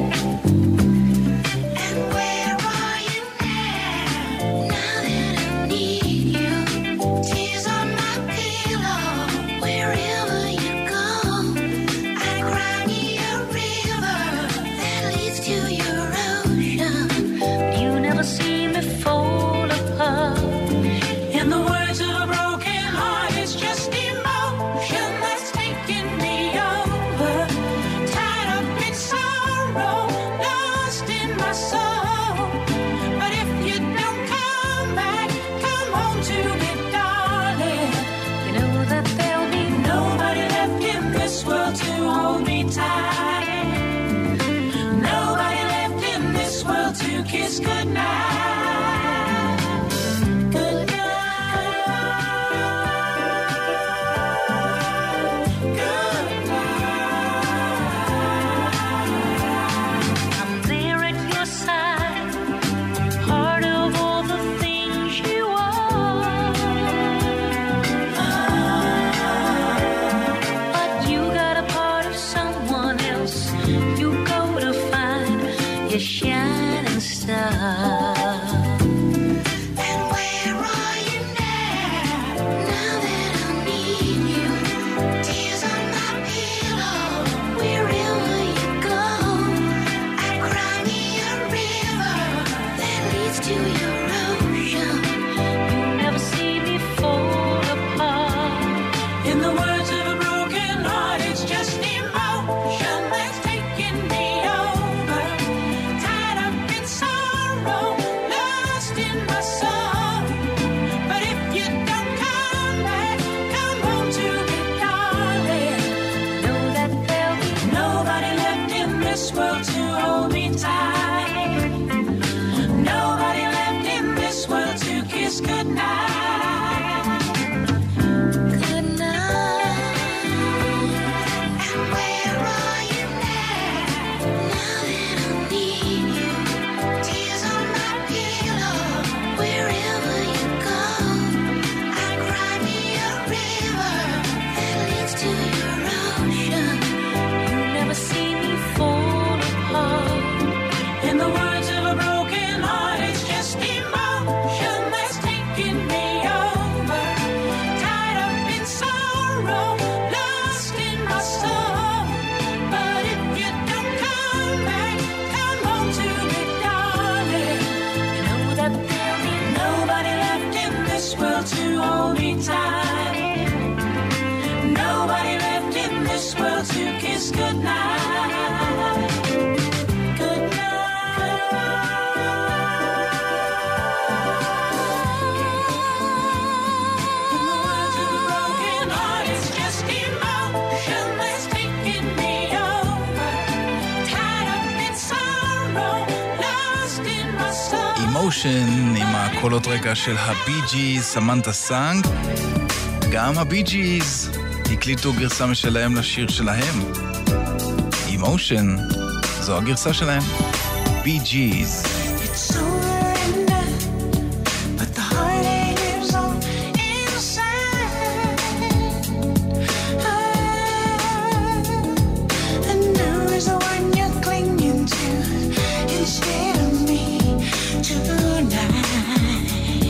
And where are you now that I need you? Tears on my pillow. Wherever you go, I cry me a river that leads to your ocean. You never see me fall apart. In the words of a broken heart, it's just emotion that's taking me over. Tied up in sorrow, lost in my soul. But if you don't come back, come home to me, darling. You know that there'll be Nobody left in this world to hold me tight. Nobody left in this world to kiss goodnight. Goodnight. Goodnight. I'm there at your side, part of all the things you are. But you got a part of someone else. You go to find your shining star. And where are you now that I need you? Tears on my pillow. Wherever you go, I cry me a river that leads to your ocean. You never see me fall apart. In the words of a broken heart, it's just emotion that's taking me over. Tied up in sorrow, lost in my soul. But if you don't come back, come home to me, darling. Know that there'll be Nobody left in this world to hold me tight. Nobody left in this world to kiss goodnight. good night. And where are you now that I need you? Tears on my pillow. Wherever you go, I cry me a river that leads to your ocean. You never see me fall apart. Emotion עם הקולות רקע של הבי ג'יז, סמנתה סאנג. גם הבי ג'יז הקליטו גרסה משלהם לשיר שלהם. Emotion, זו הגרסה שלהם. בי ג'יז. It's over and done, but the heartache lives on inside. And now is the one you're clinging to instead of me tonight.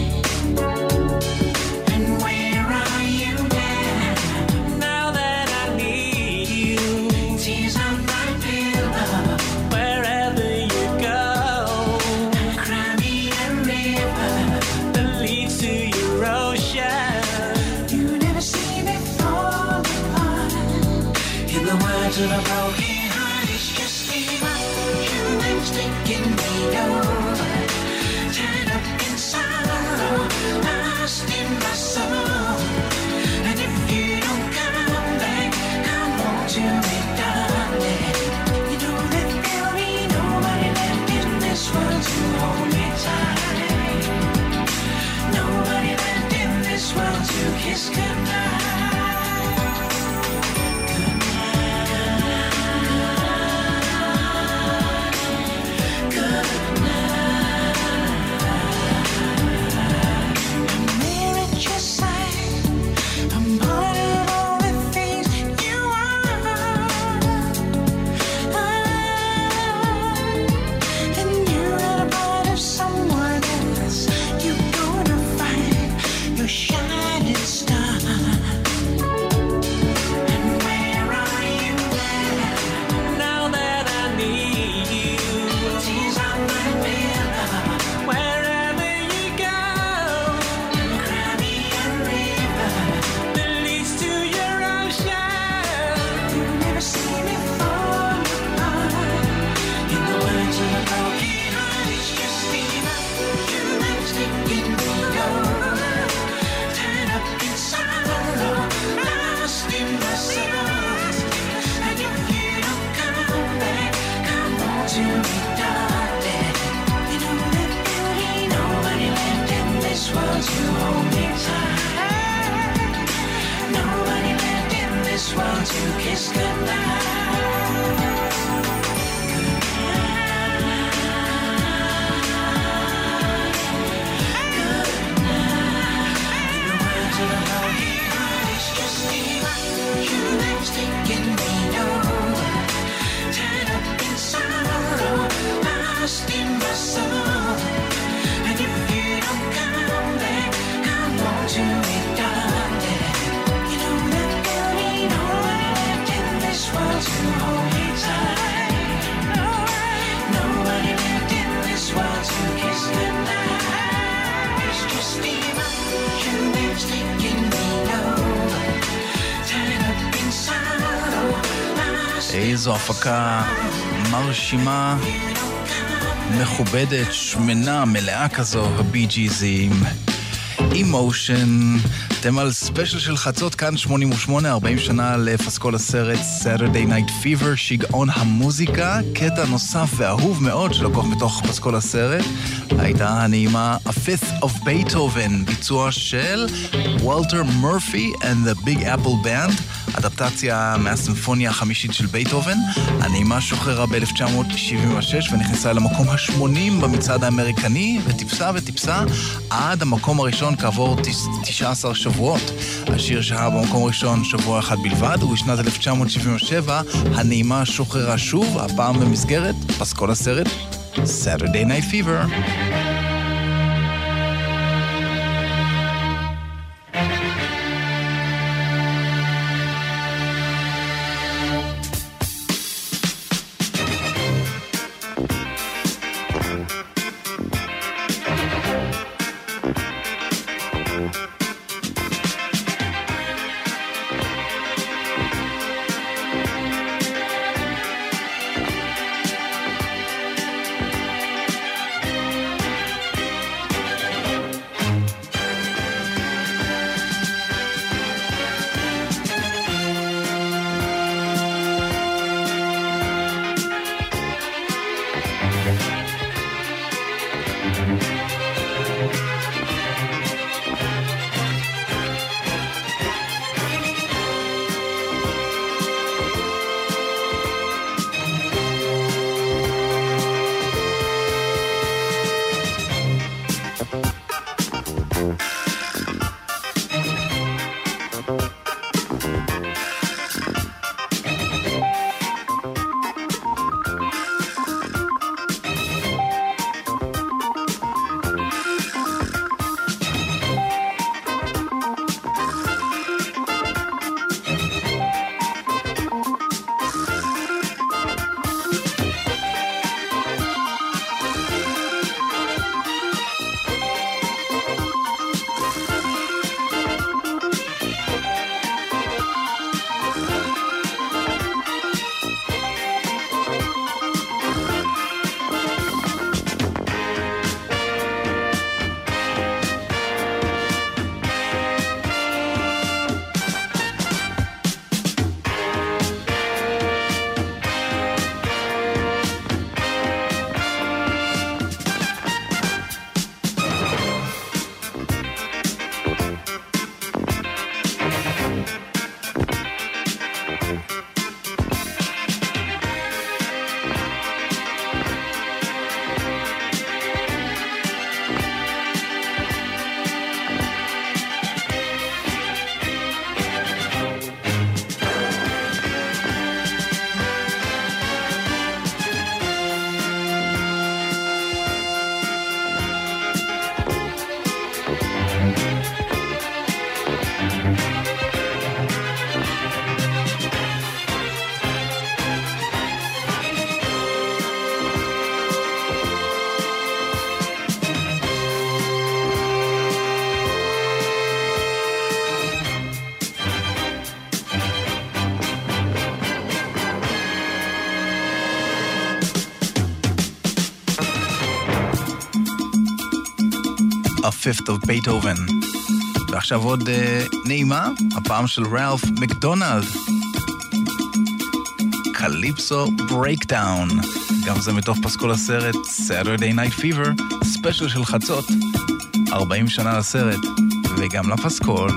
And where are you now? Now that I need you, tears on my pillow. Wherever you go, cry me a river that leads to your ocean. You never see me fall apart. In the words of a broken heart, it's just humans taking me over. Tied up in sorrow, lost in my soul. And if you don't come back, come home to me, darling. You know that there'll be nobody left in this world to hold me tight. Nobody left in this world to kiss goodnight. Shining star. And where are you now? Now that I need you, tears on my pillow. Wherever you go, cry me a river that leads to your ocean. You never see me fall apart. In the words of a broken heart, it's just humans taking me over. To hold me tight. Nobody left in this world to kiss goodnight. Taking me over, tied up in sorrow, lost in my soul. And if you don't come back, come home to me, darling. You know that there'll be nobody left in this world to hold me tight. Nobody left in this world to kiss goodnight. It's just humans taking me over, tied up in sorrow, lost in איזו הפקה מרשימה, מכובדת, שמנה, מלאה כזו, הבי ג'יזים. Emotion, אתם על ספיישל של חצות, כאן 88, 40 שנה לפסקול הסרט Saturday Night Fever, שיגעון המוזיקה, קטע נוסף ואהוב מאוד שלקוח מתוך פסקול הסרט, הייתה הנעימה A Fifth of Beethoven, ביצוע של וולטר מורפי and the Big Apple Band, אדפטציה מהסימפוניה החמישית של בייטהובן. הנעימה שוחררה ב-1976 ונכנסה למקום ה-80 במצעד האמריקני, וטיפסה עד המקום הראשון כעבור 19 שבועות. השיר שהיה במקום הראשון שבוע אחד בלבד, ובשנת 1977 הנעימה שוחררה שוב, הפעם במסגרת פסקול הסרט Saturday Night Fever. Fifth of Beethoven. ועכשיו עוד נעימה, הפעם של ראלף מקדונלד. קליפסו ברייקדאון. גם זה מתוך פסקול הסרט Saturday Night Fever, ספיישל של חצות. 40 שנה לסרט, וגם לפסקול.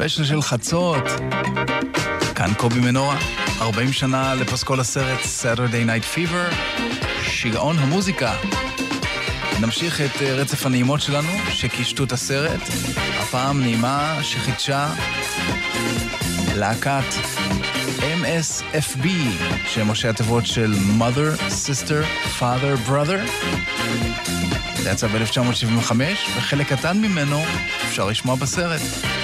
ספיישל של חצות. כאן קובי מנורה, 40 שנה לפסקול הסרט Saturday Night Fever, שיגעון המוזיקה. נמשיך את רצף הנעימות שלנו שקישטו את הסרט, הפעם נעימה שחידשה להקת MSFB, שהם ראשי התיבות של Mother, Sister, Father, Brother. זה יצא ב-1975, וחלק קטן ממנו אפשר לשמוע בסרט.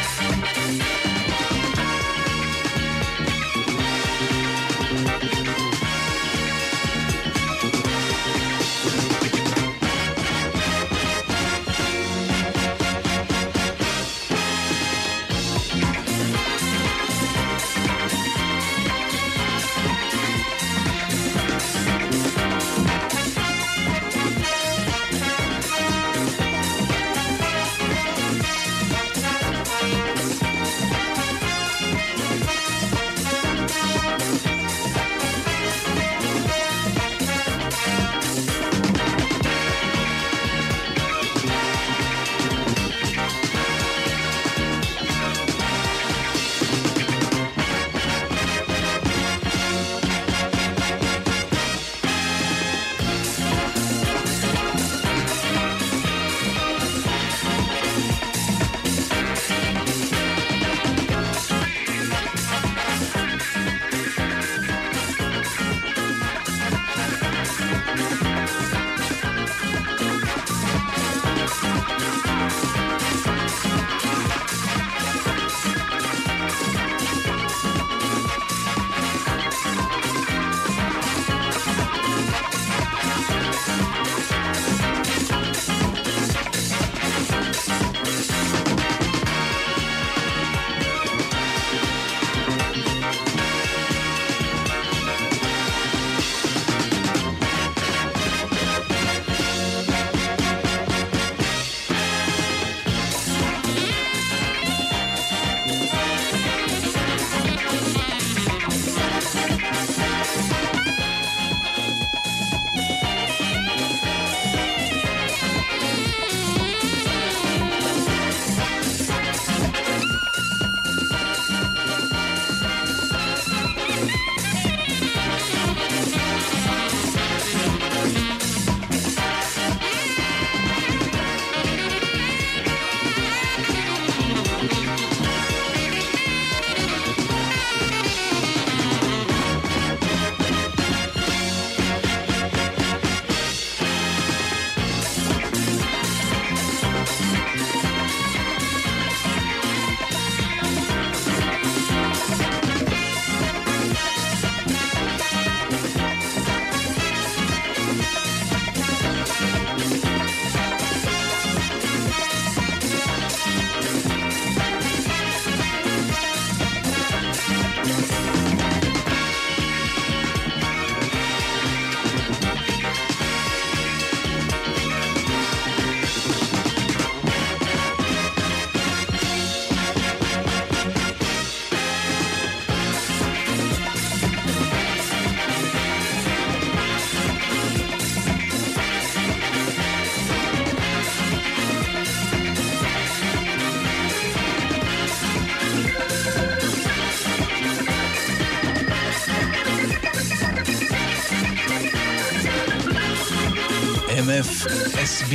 MFSB,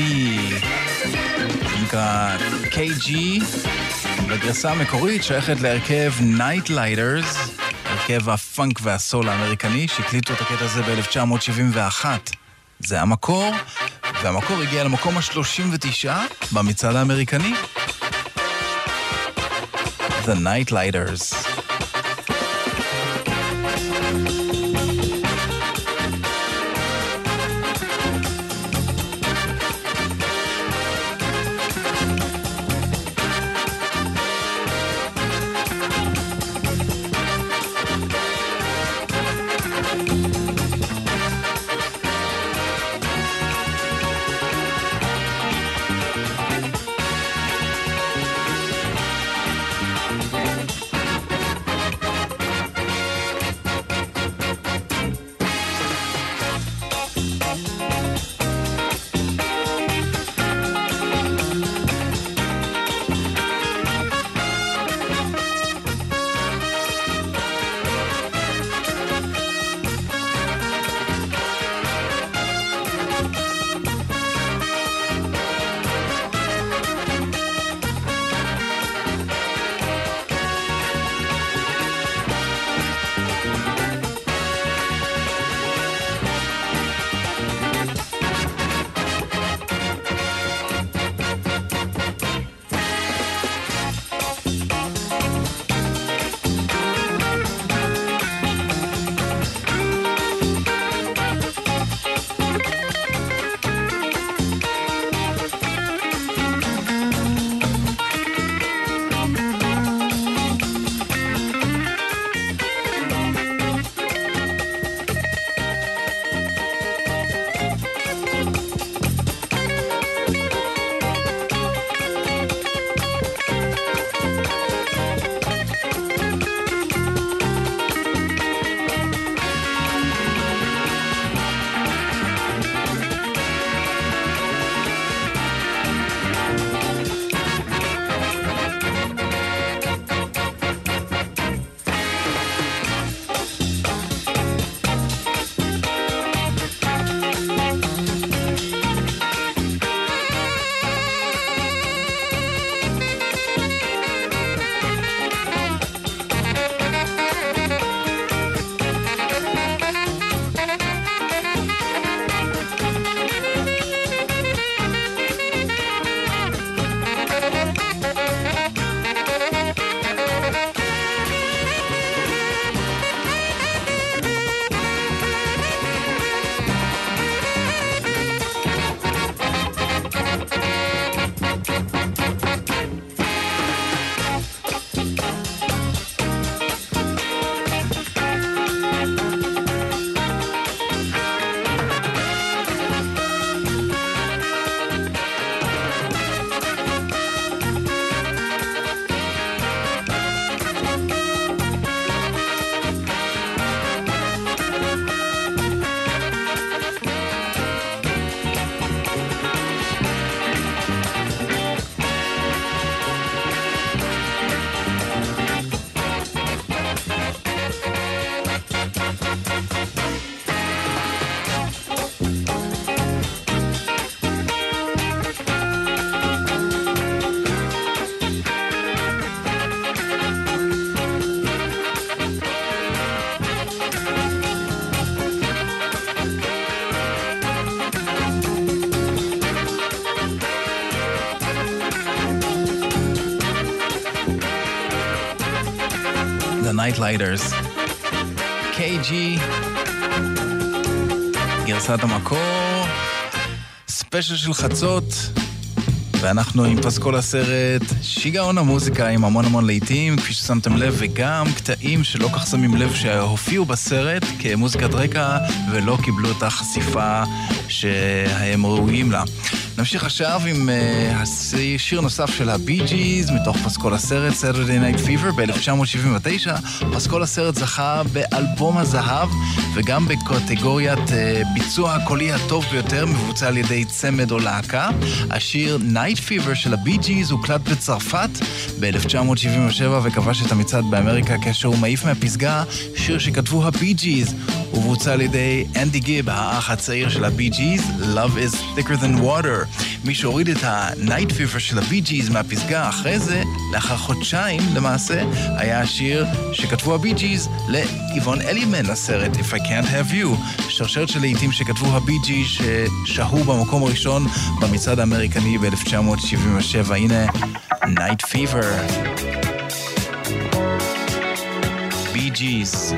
נקרא KG, בגרסה המקורית שייכת להרכב Night Lighters, הרכב הפאנק והסול האמריקני, שהקליטו את הקטע הזה ב-1971. זה המקור, והמקור הגיע למקום ה-39 במצעד האמריקני. The Night Lighters. Nightlighters. KG, גרסת המקור, ספיישל של חצות, ואנחנו עם פסקול הסרט, שיגעון המוזיקה עם המון לעיתים, כפי ששמתם לב, וגם קטעים שלא כך שמים לב שהופיעו בסרט כמוזיקת רקע ולא קיבלו את החשיפה שהם ראויים לה. נמשיך עכשיו עם שיר נוסף של הבי ג'יז מתוך פסקול הסרט, Saturday Night Fever ב-1979. פסקול הסרט זכה באלבום הזהב וגם בקטגוריית ביצוע הקולי הטוב ביותר, מבוצע על ידי צמד או להקה. השיר Night Fever של הבי ג'יז הוקלט בצרפת ב-1977 וכבש את המצעד באמריקה כאשר הוא מעיף מהפסגה שיר שכתבו הבי ג'יז ובוצע על ידי אנדי גיב, האח הצעיר של הבי ג'יז, Love is thicker than water. מי שהוריד את ה-Night Fever של הבי ג'יז מהפסגה אחרי זה, לאחר חודשיים למעשה, היה השיר שכתבו הבי ג'יז לאיבון אלימן לסרט If I Can't Have You, שרשרת של לעיתים שכתבו הבי ג'יז ששהו במקום הראשון במצעד האמריקני ב-1977. הנה Night Fever, בי ג'יז.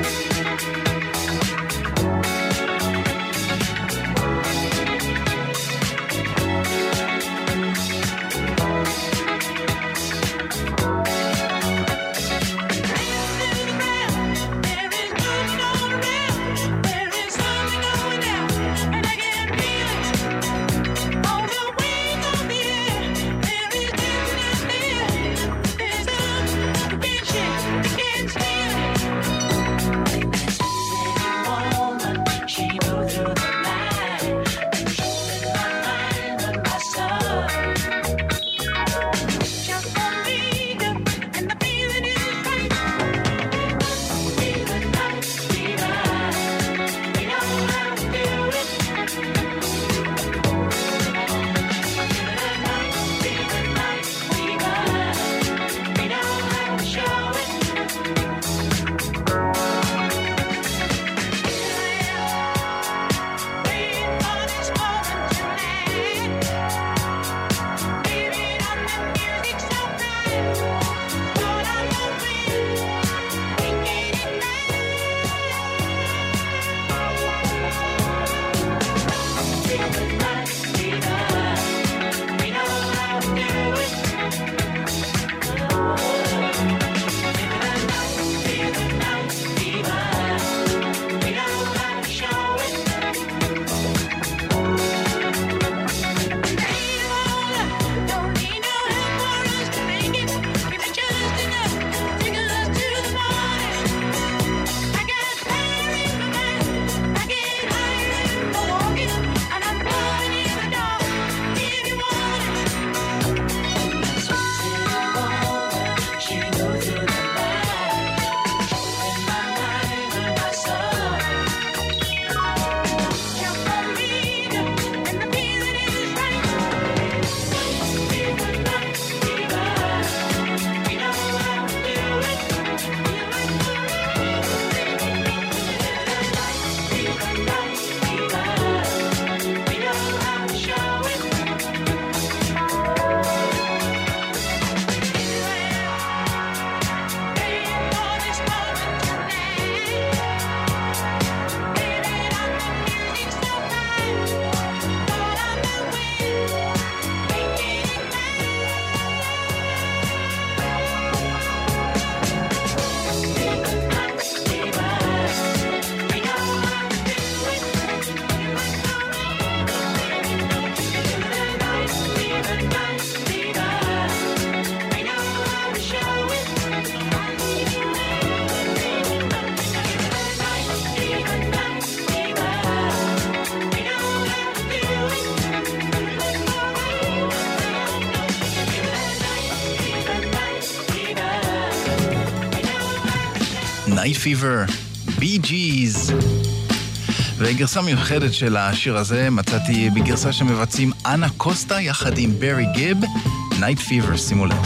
Night Fever, בי ג'יז. וגרסה מיוחדת של השיר הזה מצאתי בגרסה שמבצעים אנה קוסטה יחד עם ברי גיב, Night Fever, שימו לב.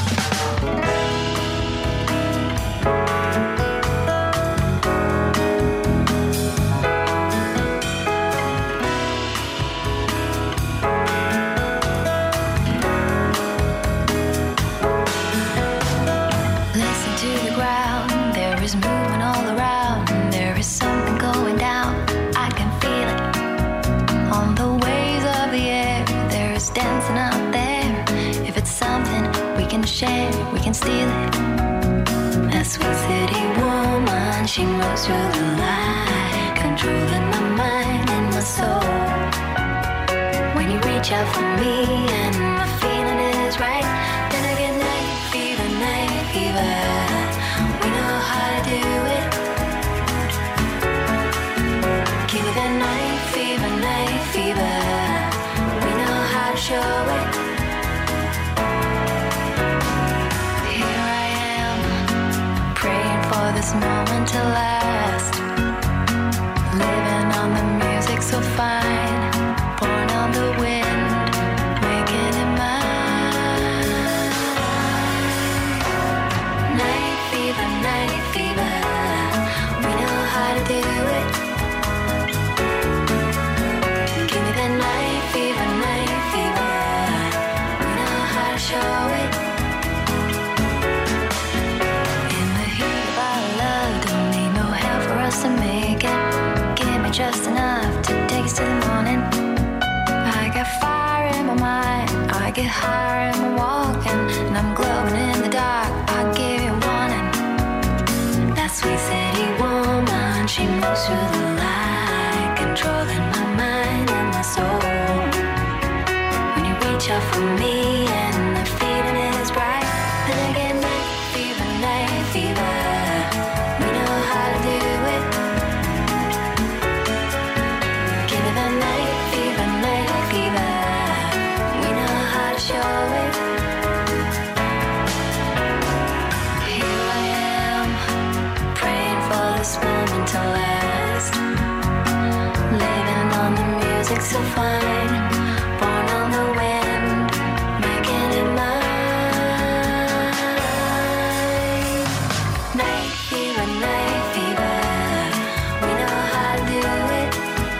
Listen to the ground, there is movement share, we can steal it. A sweet city woman, she moves through the light, controlling my mind and my soul. When you reach out for me and my feeling is right, then I get night fever, night fever. We know how to do it. Give me that night fever, night fever. We know how to show it. Here I am, praying for this moment to last. Living on the music so fine, born on the wind, making it mine. Night fever, night fever. We know how to do it. Give me that night fever, night fever. We know how to show it. In the heat of our love, don't need no help for us to make it. Give me just enough to take us to the morning. I got fire in my mind, I get higher in my walking, and I'm glowing in the dark. I'll give you warning. That sweet city woman, she moves through the light, controlling my mind and my soul. When you reach out for me and the feeling is bright, then I get night fever, night fever. We know how to do it. Give me that night fever, night fever. We know how to show it. Here I am, praying for this moment to last. Living on the music so fine, born on the wind, making it mine. Night fever, night fever. We know how to do it.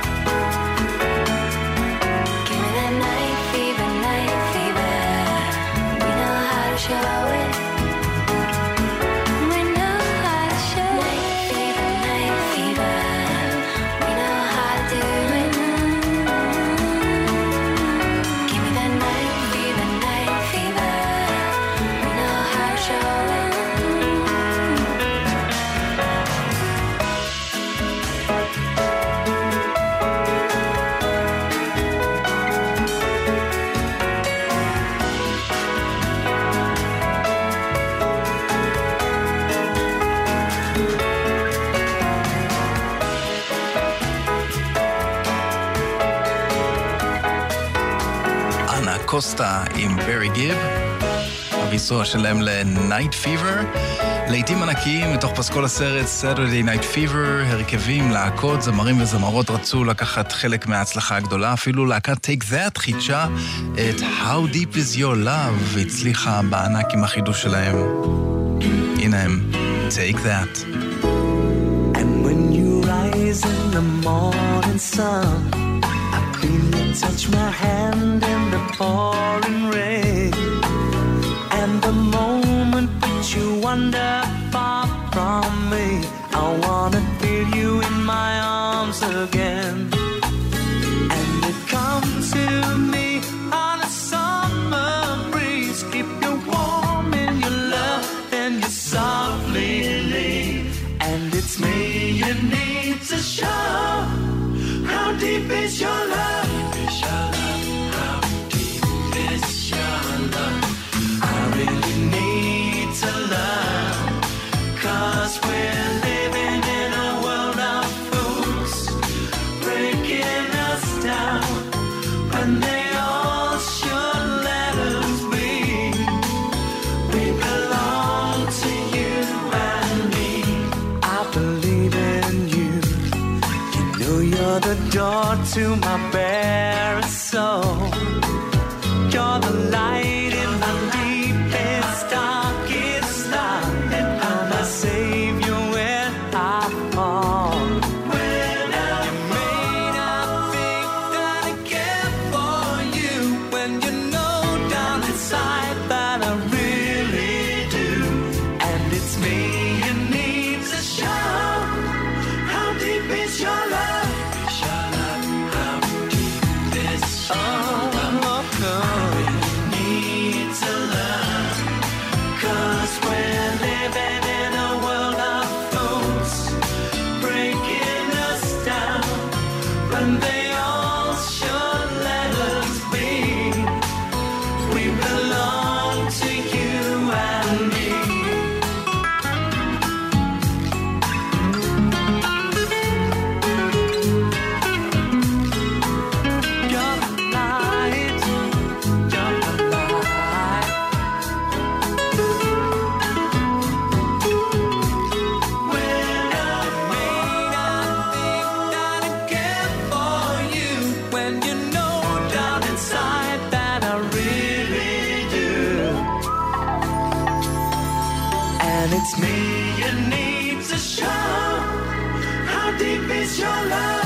Give me that night fever, night fever. We know how to show it. We know how to show it. Night fever, night fever. We know how to do it. Give me that night fever, night fever. We know how to show it. אנה קוסטה עם ברי גיב, הביצוע שלהם ל-Night Fever, לעיתים ענקיים מתוך פסקול הסרט Saturday Night Fever, הרכבים, להקות, זמרים וזמרות רצו לקחת חלק מההצלחה הגדולה, אפילו להקת Take That חידשה את How Deep Is Your Love, והצליחה בענק עם החידוש שלהם. הנה הם, Take That. And when you rise in the morning sun, I feel you touch my hand in the pouring rain. And the moment that you wander far from me, I wanna feel you in my arms again. And you come to me on a summer breeze, keep you warm in your love, then you softly leave. And it's me you need to show. How deep is your love? How deep is your love? I really need to learn, 'cause we're living in a world of fools, breaking us down when they all should let us be. We belong to you and me. I believe in you. You know you're the door to my bare soul. You're the light in my deepest, darkest night. And you're my savior when I fall. When you may not think that I care for you, when you know down inside that I really do. And it's me you need to show. How deep is your love? How deep is your love? I really need and you know down inside that I really do. And it's me you need to show. How deep is your love?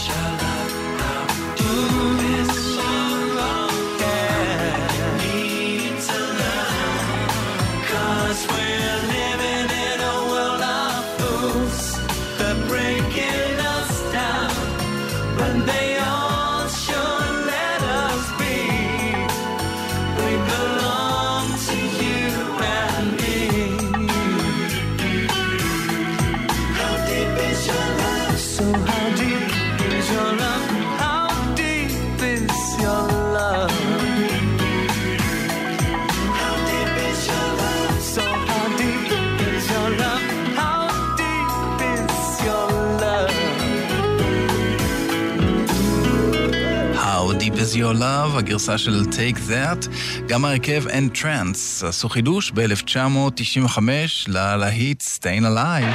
Is Your Love, הגרסה של Take That. גם הרכב Entrance עשו חידוש ב-1995 ללהיט Staying Alive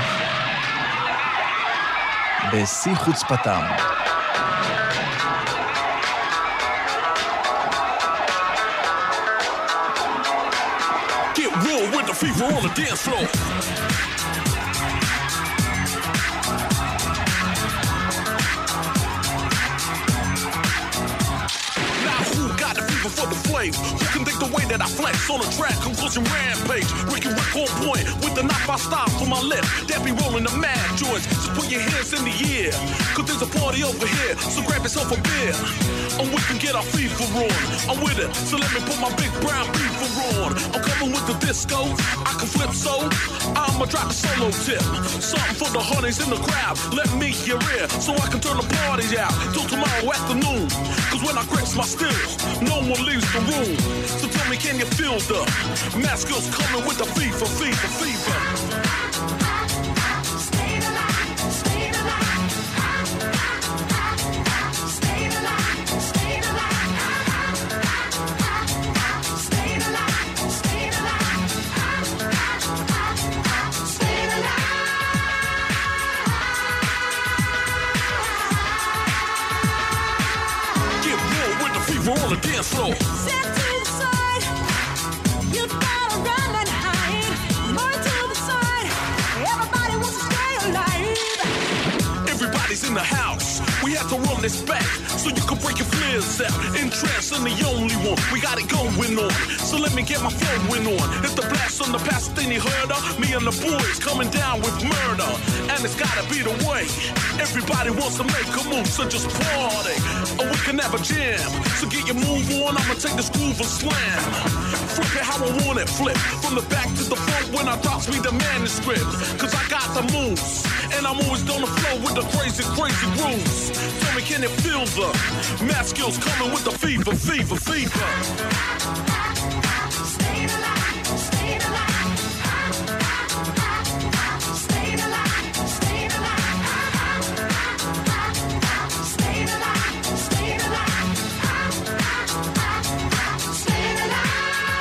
בשיא חוצפתם. Get real with the fever on the dance floor. For the flames, who can think the way that I flex on a track, conclusion rampage, Ricky Rick on point with the knife I stop for my lip, that be rolling the mad joints, just put your hands in the air, cause there's a party over here, so grab yourself a beer, and we can get our fever on, I'm with it, so let me put my big brown beaver on, I'm coming with the disco, I can flip so, I'ma drop a solo tip, something for the honeys in the crowd, let me hear it, so I can turn the party out, till tomorrow afternoon, cause when I grips my stills, no one leaves the room. So tell me, can you feel the mask girls coming with the fever, fever, fever? Stay alive, stay alive. Stay alive, stay alive. Stay alive, stay alive. Stay alive. Get real with the fever on the dance floor. In the house, we have to run this back so you can break your flares out. Entrance, I'm the only one. We got it going on, so let me get my flowing on. It's the blast on the past thing you heard of. Me and the boys coming down with murder, and it's gotta be the way. Everybody wants to make a move, so just party, or we can have a jam. So get your move on. I'ma take this groove and slam. Flip it how I want it, flip from the back to the front when I drops me the manuscript. Cause I got the moves, and I'm always on the flow with the crazy, crazy grooves. Tell me, can you feel the math skills coming with the fever, fever, fever? Stay alive, stay alive. Stay alive, stay alive. Stay alive, stay alive. Stay alive.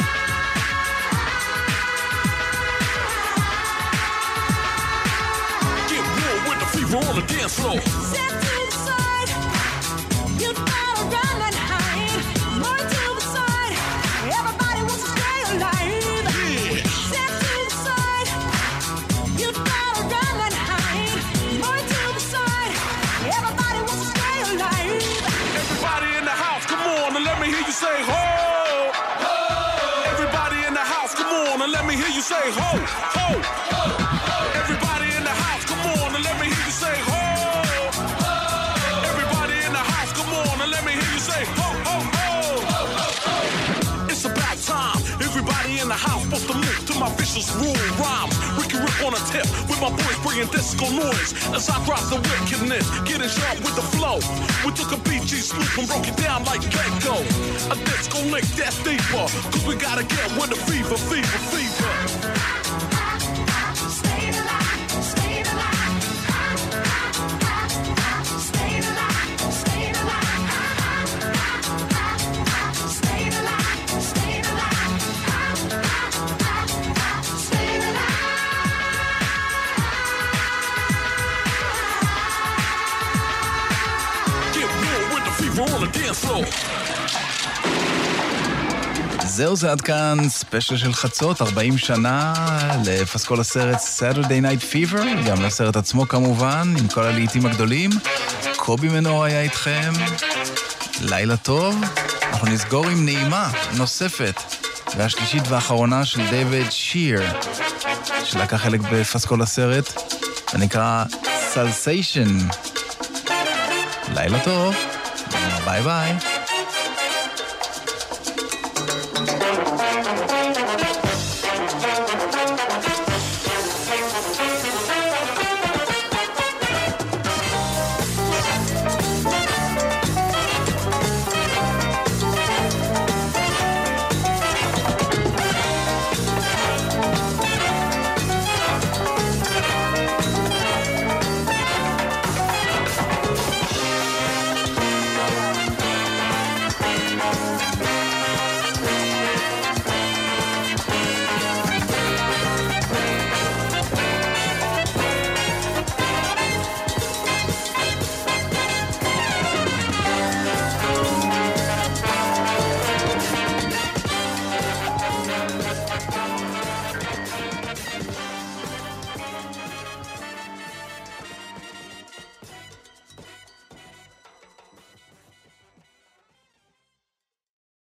Get real with the fever on the dance floor. Step to the side, you gotta run and hide. More to the side, everybody wants to stay alive. Yeah. Step to the side, you gotta run and hide. More to the side, everybody wants to stay alive. Everybody in the house, come on and let me hear you say ho. Ho. Everybody in the house, come on and let me hear you say ho, ho. Everybody in the house, come on and let me hear you say ho. Everybody in the house, come on and let me hear you say ho, ho, ho. It's about time. Everybody in the house supposed to move to my vicious rule rhymes. Ricky Rick on a tip with my boys bringing disco noise as I drop the wickedness, getting sharp with the flow. We took a BG Snoop and broke it down like Gecko. A disco lick that's deeper, cause we gotta get with the fever, fever, fever. Stay alive, stay alive. Stay alive, stay alive. Stay alive, stay alive. Stay alive. Get real with the fever on the dance floor. זהו, זה עד כאן ספיישל של חצות, 40 שנה לפסקול הסרט Saturday Night Fever, גם לסרט עצמו כמובן, עם כל הלעיתים הגדולים. קובי מנור היה איתכם, לילה טוב. אנחנו נסגור עם נעימה נוספת, והשלישית והאחרונה של דיוויד שיר, שלקח חלק בפסקול הסרט, ונקרא Salsation. לילה טוב, ביי ביי.